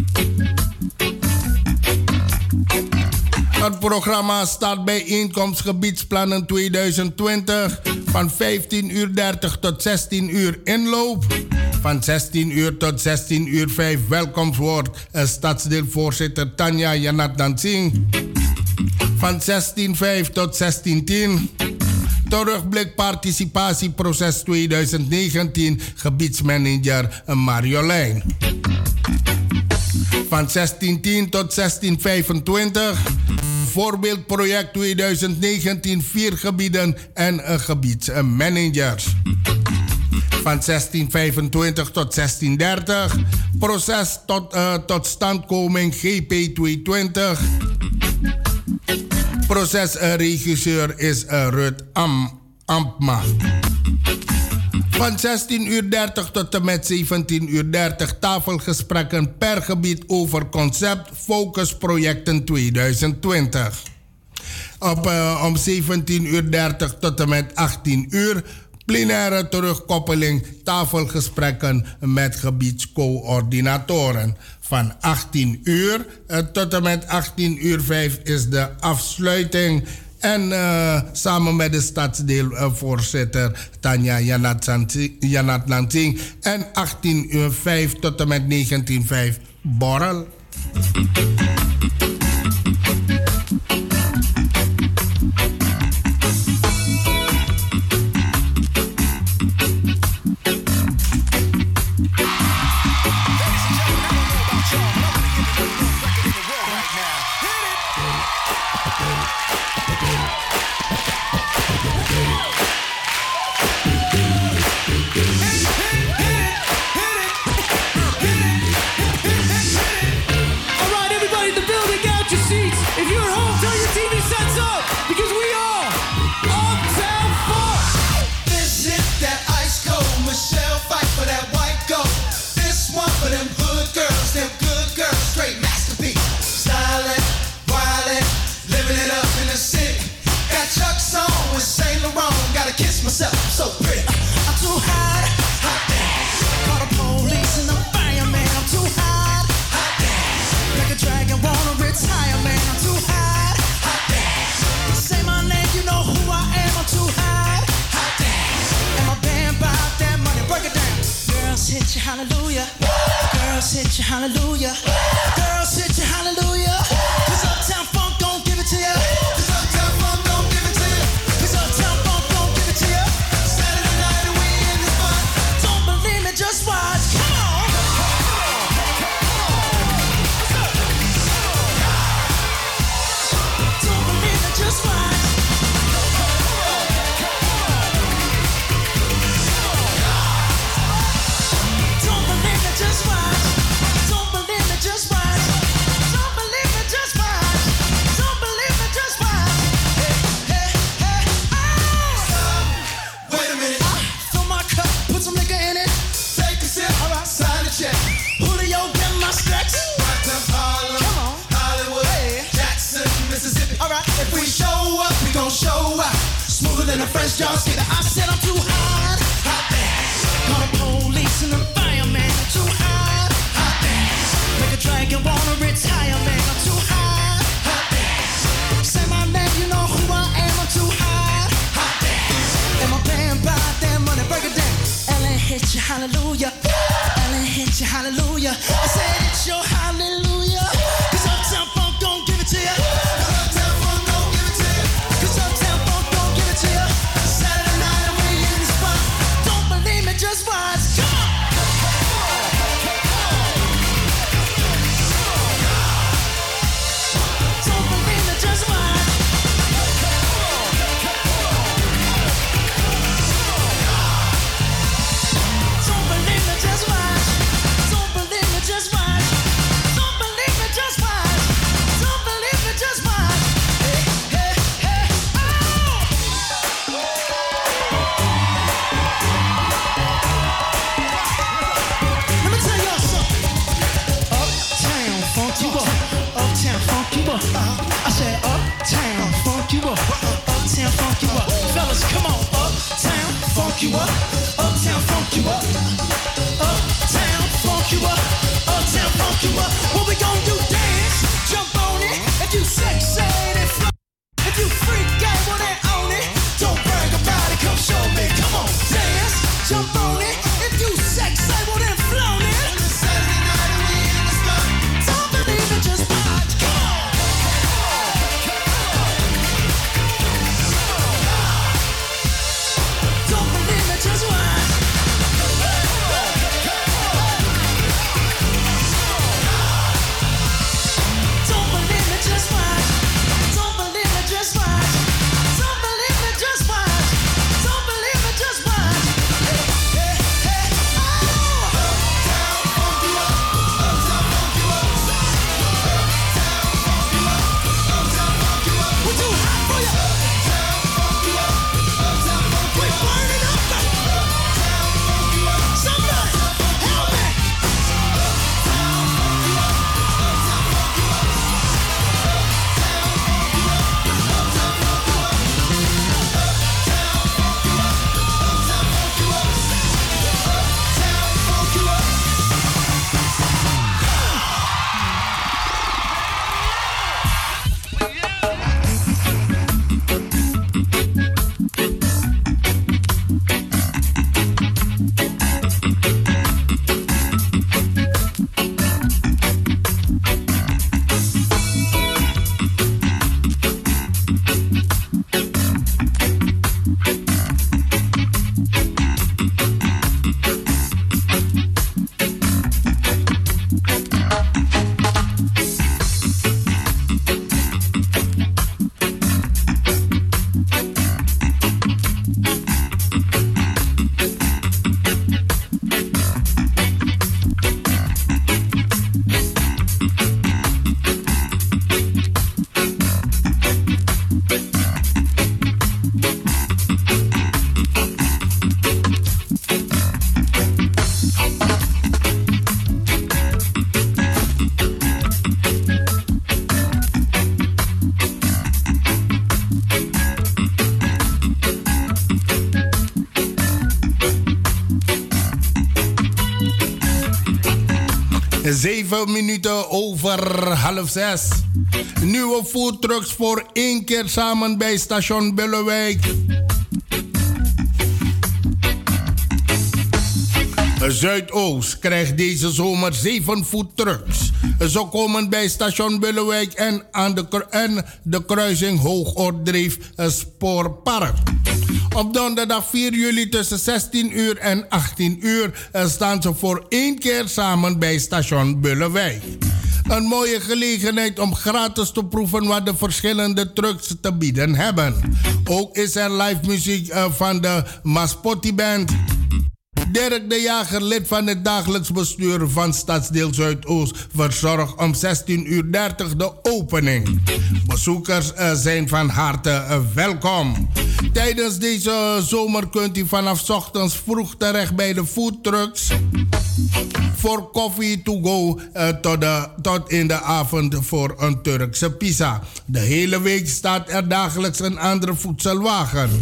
Het programma start bijeenkomst gebiedsplannen tweeduizend twintig van vijftien uur dertig tot zestien uur inloop. Van zestien uur tot zestien uur vijf welkomstwoord stadsdeelvoorzitter Tanja Janat Dansing. Van zestien vijf tot zestien tien terugblik participatieproces tweeduizend negentien gebiedsmanager Marjolein. Van zestien tien tot zestien vijfentwintig voorbeeldproject tweeduizend negentien vier gebieden en gebiedsmanagers. Van zestien vijfentwintig tot zestien dertig proces tot, uh, tot standkoming G P tweehonderdtwintig. Procesregisseur is uh, Rut Am, Ampma. Van zestien uur dertig tot en met zeventien uur dertig tafelgesprekken per gebied over concept focusprojecten tweeduizend twintig. Op, uh, om zeventien uur dertig tot en met achttien uur plenaire terugkoppeling tafelgesprekken met gebiedscoördinatoren. Van achttien uur uh, tot en met achttien uur vijf is de afsluiting. En uh, samen met de stadsdeelvoorzitter uh, Tanja Janat Lansing. En achttien uur vijf tot en met negentien uur vijf borrel. Hallelujah. Girls hit you, hallelujah. Girls hit you, hallelujah. Cause Uptown Funk don't give it to you. Cause Uptown Funk don't give it to you. Cause Uptown Funk don't give it to you. Saturday night and we in the fun. Don't believe me, just watch. Come on. Don't believe me, just watch. Just watch. Don't believe me, just watch. Don't believe me, just watch. Don't believe me, just watch. Hey, hey, hey, oh. Stop. Wait a minute. Uh, fill my cup, put some liquor in it. Take a sip. All right, sign the check. Julio, get my stretch. Harlem, come on. Hollywood, hey. Jackson, Mississippi. All right, if we show up, we gon' show out. Smoother than a French jar skater. I said I'm too hot. Hot damn. Call the police and the fireman. I'm too hot. Hot damn. Make a dragon wanna retire, man. I'm too hot. Hot damn. Say my name, you know who I am. I'm too hot. Hot damn. And my band buy that money, break it down. Ellen hit you, hallelujah. Ellen hit you, hallelujah. I said it's your hallelujah. Cause Uptown Funk don't give it to you. Cause Uptown Funk don't give it to you. Cause Uptown Funk don't give it to you. funk you up. Uptown funk you up. I said uptown funk you up. Uptown funk you up. Fellas, come on. Uptown funk you up. Uptown funk you up. Uptown funk you up. Uptown funk you up. What we gon' do? Dance, jump on it. If you sexy and fly, if you freak out, well then own it. Don't brag about it. Come show me. Come on, dance, jump on it. If you sexy, well then flown it. On the Saturday night and we in the spot. Don't believe it, just watch. Come on. Don't believe it, just watch. Don't believe it, just watch. Don't believe it, just watch. Don't believe it, just watch. Don't believe it, just watch. Hey, hey, hey, oh! Uptown funk you up. Uptown funk you up. Uptown funk you up. Uptown funk you up. We're too hot for you. Uptown funk you up. Uptown funk you up. We're burning up. Uptown funk you up. Somebody help me. Uptown funk you up. Uptown funk you up. Zeven minuten over half zes. Nieuwe foodtrucks voor één keer samen bij station Bellewijk. Zuidoost krijgt deze zomer zeven foodtrucks. Ze komen bij station Bellewijk en aan de, en de kruising Hoogoordreef Spoorpark. Op donderdag vier juli tussen zestien uur en achttien uur staan ze voor één keer samen bij station Bellewijk. Een mooie gelegenheid om gratis te proeven wat de verschillende trucks te bieden hebben. Ook is er live muziek van de Maspotti Band. Dirk de Jager, lid van het dagelijks bestuur van Stadsdeel Zuidoost, verzorgt om zestien uur dertig de opening. Bezoekers uh, zijn van harte uh, welkom. Tijdens deze zomer kunt u vanaf 's ochtends vroeg terecht bij de foodtrucks voor koffie to go uh, tot, de, tot in de avond voor een Turkse pizza. De hele week staat er dagelijks een andere voedselwagen.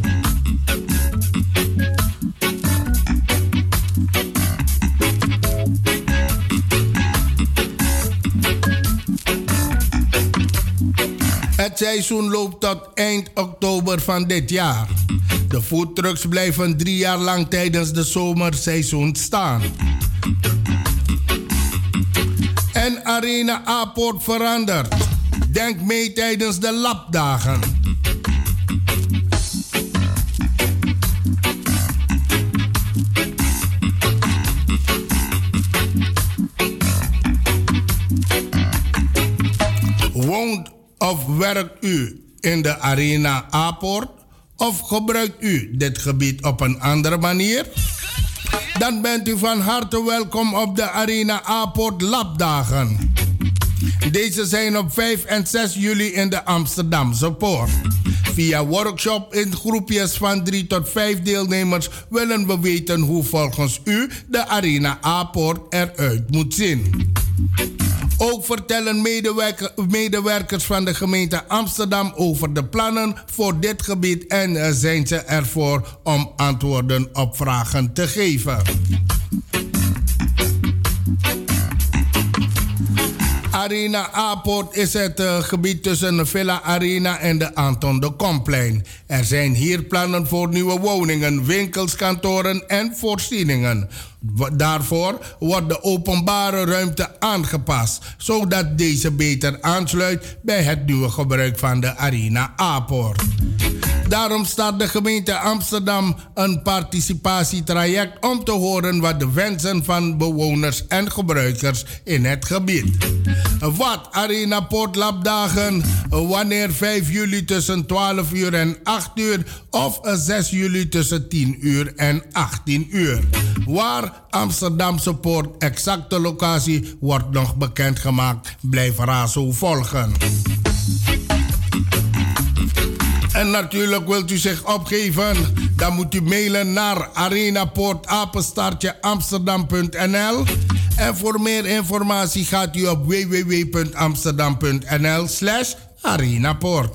Het seizoen loopt tot eind oktober van dit jaar. De foodtrucks blijven drie jaar lang tijdens de zomerseizoen staan. En Arena A-poort verandert. Denk mee tijdens de lapdagen. Woont of werkt u in de Arena A-poort? Of gebruikt u dit gebied op een andere manier? Dan bent u van harte welkom op de Arena A-poort Lapdagen. Deze zijn op vijf en zes juli in de Amsterdamse Poort. Via workshop in groepjes van drie tot vijf deelnemers willen we weten hoe volgens u de Arena A-poort eruit moet zien. Ook vertellen medewerker, medewerkers van de gemeente Amsterdam over de plannen voor dit gebied en uh, zijn ze ervoor om antwoorden op vragen te geven. Arena A-poort is het uh, gebied tussen de Villa Arena en de Anton de Komplein. Er zijn hier plannen voor nieuwe woningen, winkels, kantoren en voorzieningen. Daarvoor wordt de openbare ruimte aangepast, zodat deze beter aansluit bij het nieuwe gebruik van de Arena A-poort. Daarom start de gemeente Amsterdam een participatietraject om te horen wat de wensen van bewoners en gebruikers in het gebied. Wat Arena Poortlapdagen, wanneer vijf juli tussen twaalf uur en acht uur of zes juli tussen tien uur en achttien uur. Waar Amsterdamse Poort, exacte locatie, wordt nog bekendgemaakt. Blijf Razo volgen. En natuurlijk wilt u zich opgeven, dan moet u mailen naar arenapoortapenstaartje amsterdam punt n l. En voor meer informatie gaat u op w w w punt amsterdam punt n l slash arenapoort.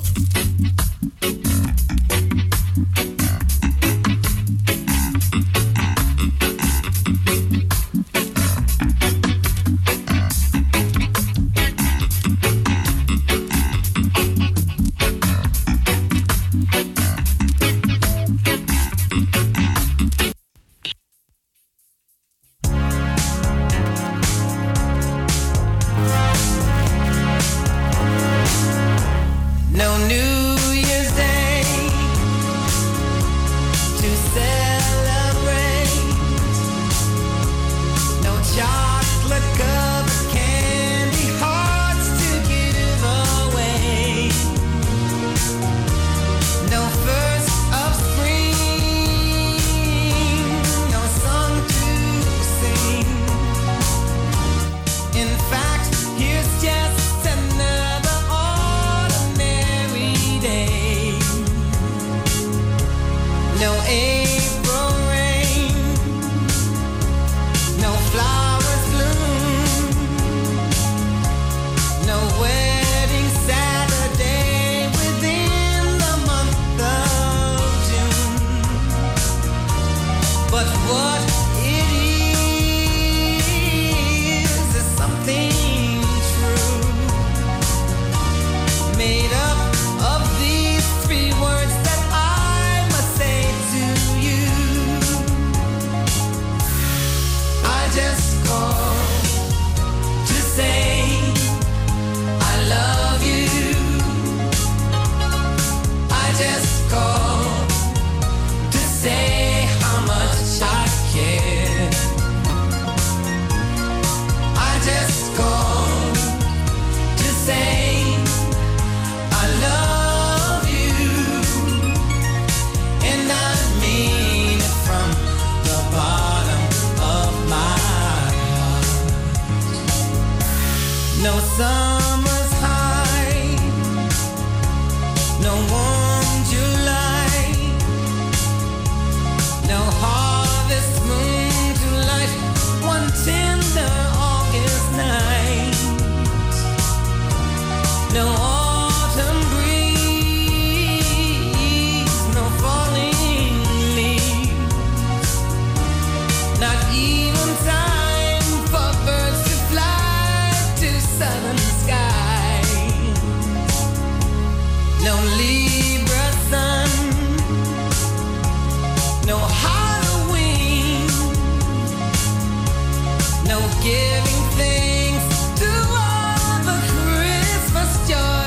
Giving thanks to all the Christmas joy.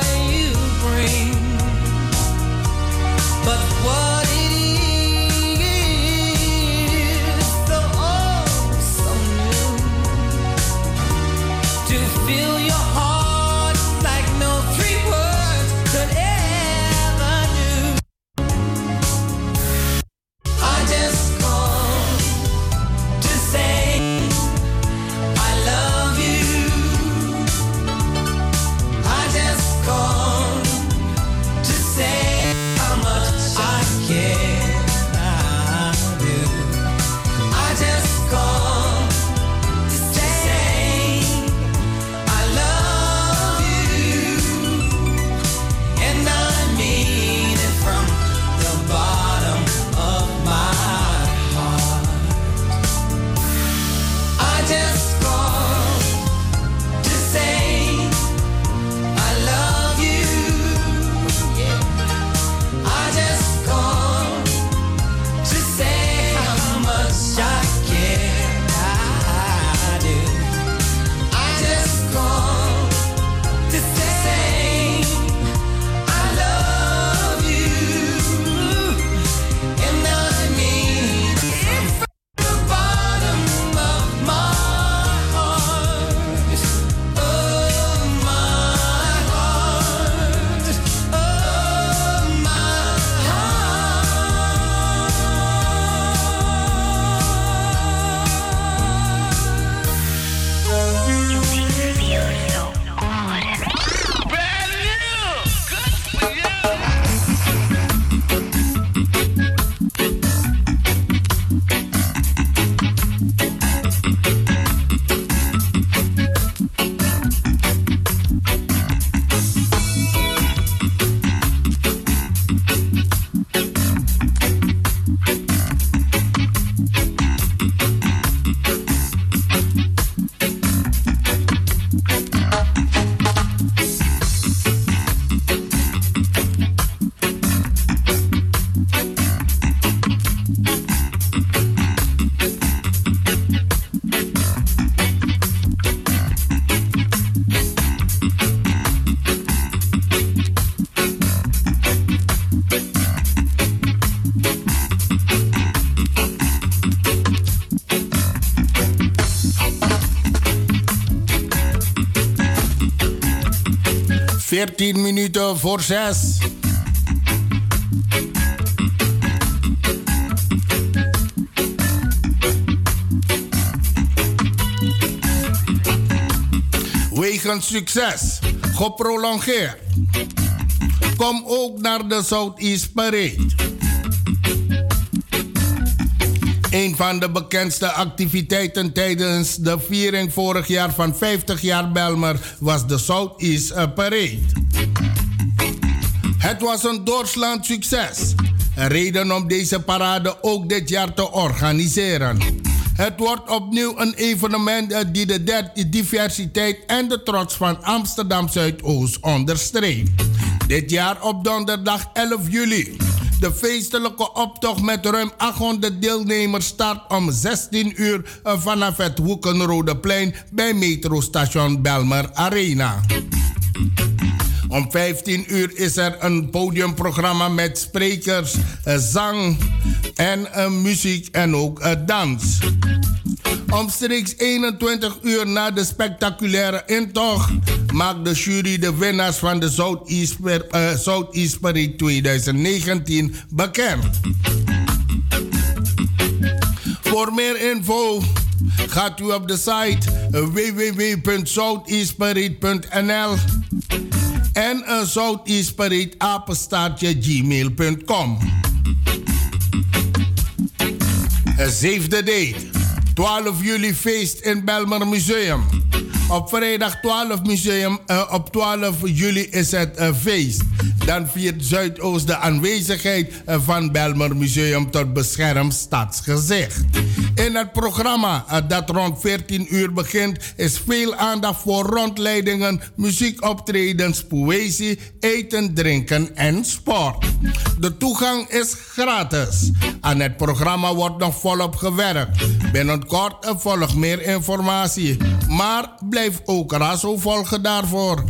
veertien minuten voor zes. Wegens succes, geprolongeerd. Kom ook naar de Southeast Parade. Een van de bekendste activiteiten tijdens de viering vorig jaar van vijftig jaar Bijlmer was de Southeast Parade. Het was een doorslaand succes. Een reden om deze parade ook dit jaar te organiseren. Het wordt opnieuw een evenement die de diversiteit en de trots van Amsterdam Zuidoost onderstreept. Dit jaar op donderdag elf juli. De feestelijke optocht met ruim achthonderd deelnemers start om zestien uur vanaf het Hoekenrodeplein bij metrostation Bijlmer Arena. Om vijftien uur is er een podiumprogramma met sprekers, zang en muziek en ook dans. Omstreeks eenentwintig uur na de spectaculaire intocht maakt de jury de winnaars van de Southeast, uh, Southeast Parade twintig negentien bekend. Voor meer info gaat u op de site w w w punt southeast parade punt n l en een Southeast Parade apenstaartje gmail punt com. Zevende date. twaalf juli feest in Bijlmer Museum. Op vrijdag twaalf, museum, uh, op twaalf juli is het uh, feest. Dan viert Zuidoost de aanwezigheid uh, van Bijlmer Museum tot beschermd stadsgezicht. In het programma uh, dat rond veertien uur begint is veel aandacht voor rondleidingen, muziekoptredens, poëzie, eten, drinken en sport. De toegang is gratis. Aan het programma wordt nog volop gewerkt. Binnenkort uh, volgt meer informatie. Maar blijf ook razo volgen daarvoor.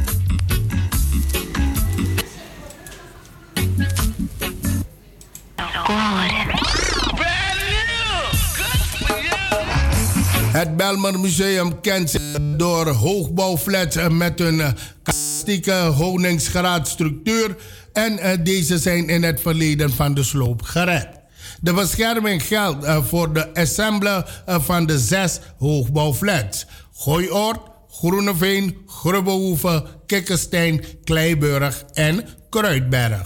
Het Bijlmer Museum kent zich door hoogbouwflats met een kastieke honingsgraadstructuur en deze zijn in het verleden van de sloop gered. De bescherming geldt uh, voor de ensemble uh, van de zes hoogbouwflats. Gooioord, Groeneveen, Grubbehoeve, Kikkenstein, Kleiburg en Kruidberg.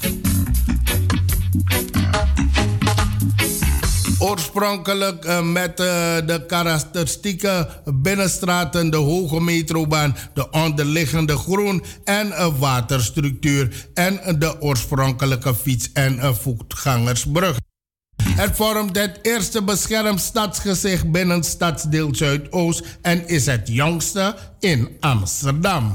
Oorspronkelijk uh, met uh, de karakteristieke binnenstraten, de hoge metrobaan, de onderliggende groen- en uh, waterstructuur en uh, de oorspronkelijke fiets- en uh, voetgangersbrug. Het vormt het eerste beschermd stadsgezicht binnen stadsdeel Zuidoost en is het jongste in Amsterdam.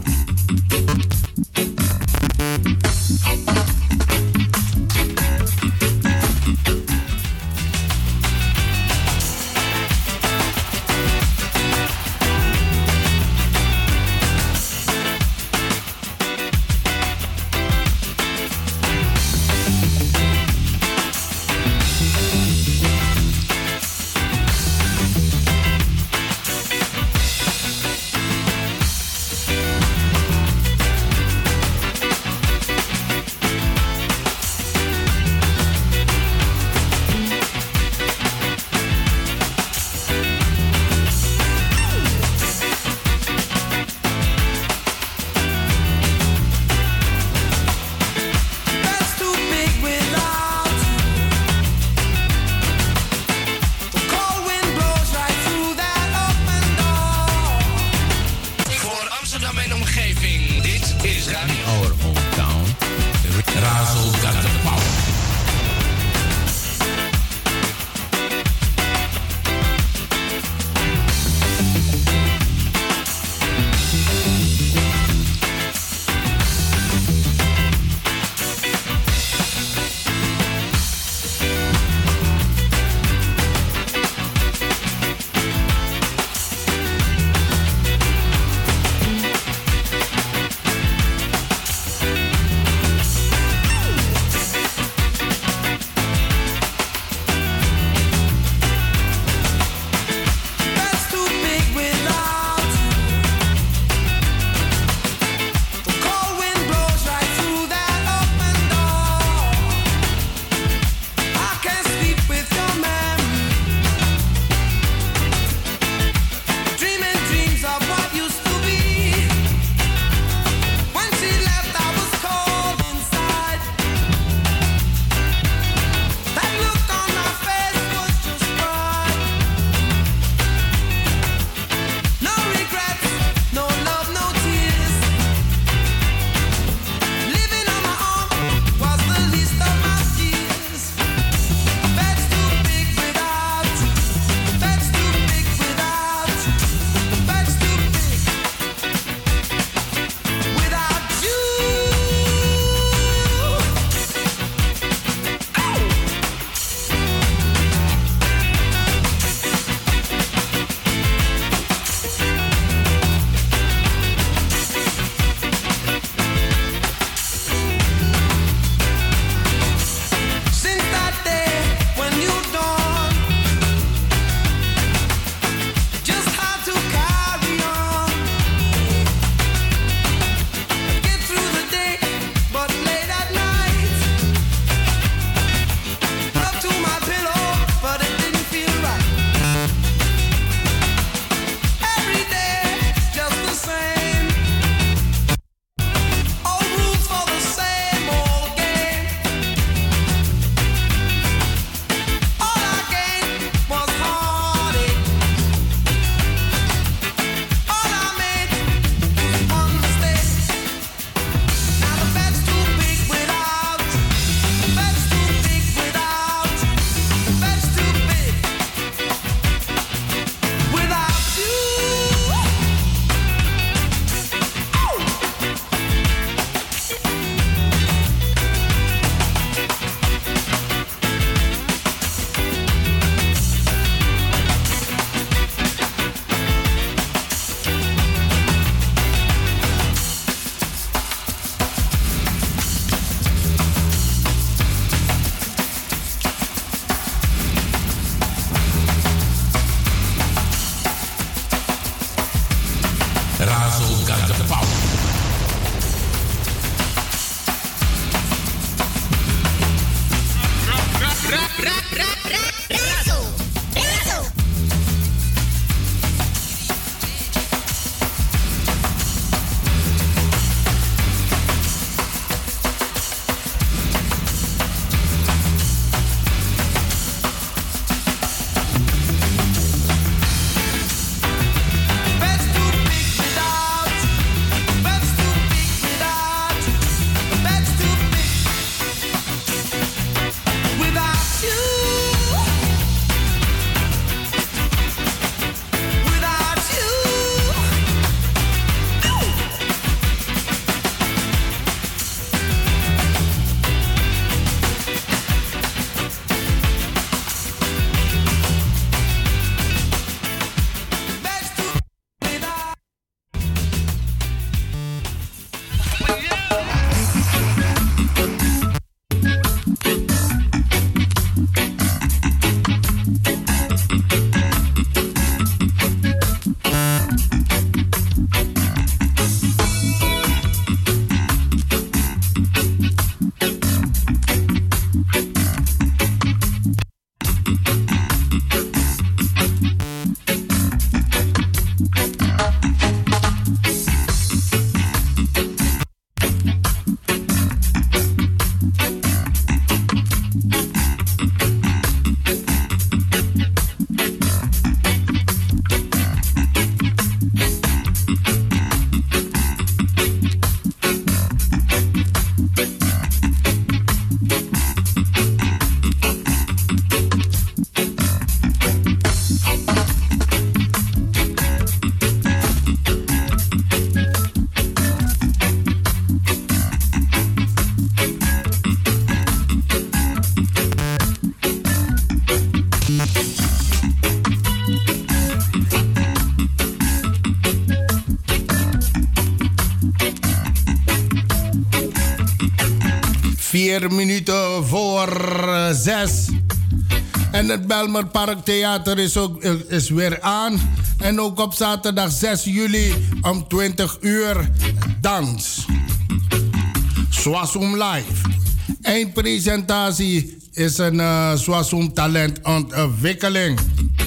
Vier minuten voor zes. En het Belmer Park Theater is, ook, is weer aan. En ook op zaterdag zes juli om twintig uur dans. Swasum Live. Eindpresentatie is een uh, Swasum talentontwikkeling.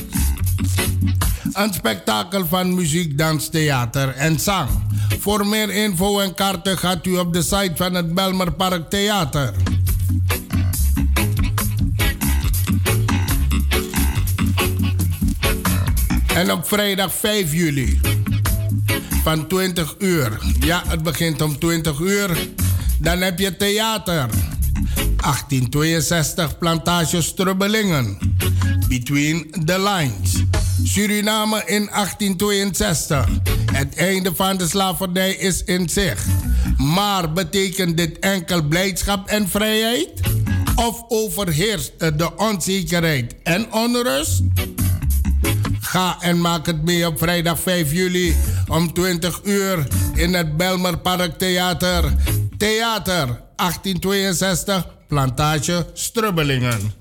Een spektakel van muziek, dans, theater en zang. Voor meer info en kaarten gaat u op de site van het Belmer Park Theater. En op vrijdag vijf juli van twintig uur. Ja, het begint om twintig uur. Dan heb je theater. achttien tweeënzestig Plantage Strubbelingen. Between the Lines. Suriname in achttien tweeënzestig. Het einde van de slavernij is in zicht. Maar betekent dit enkel blijdschap en vrijheid? Of overheerst de onzekerheid en onrust? Ga en maak het mee op vrijdag vijf juli om twintig uur in het Belmer Park Theater. Theater achttien tweeënzestig Plantage Strubbelingen.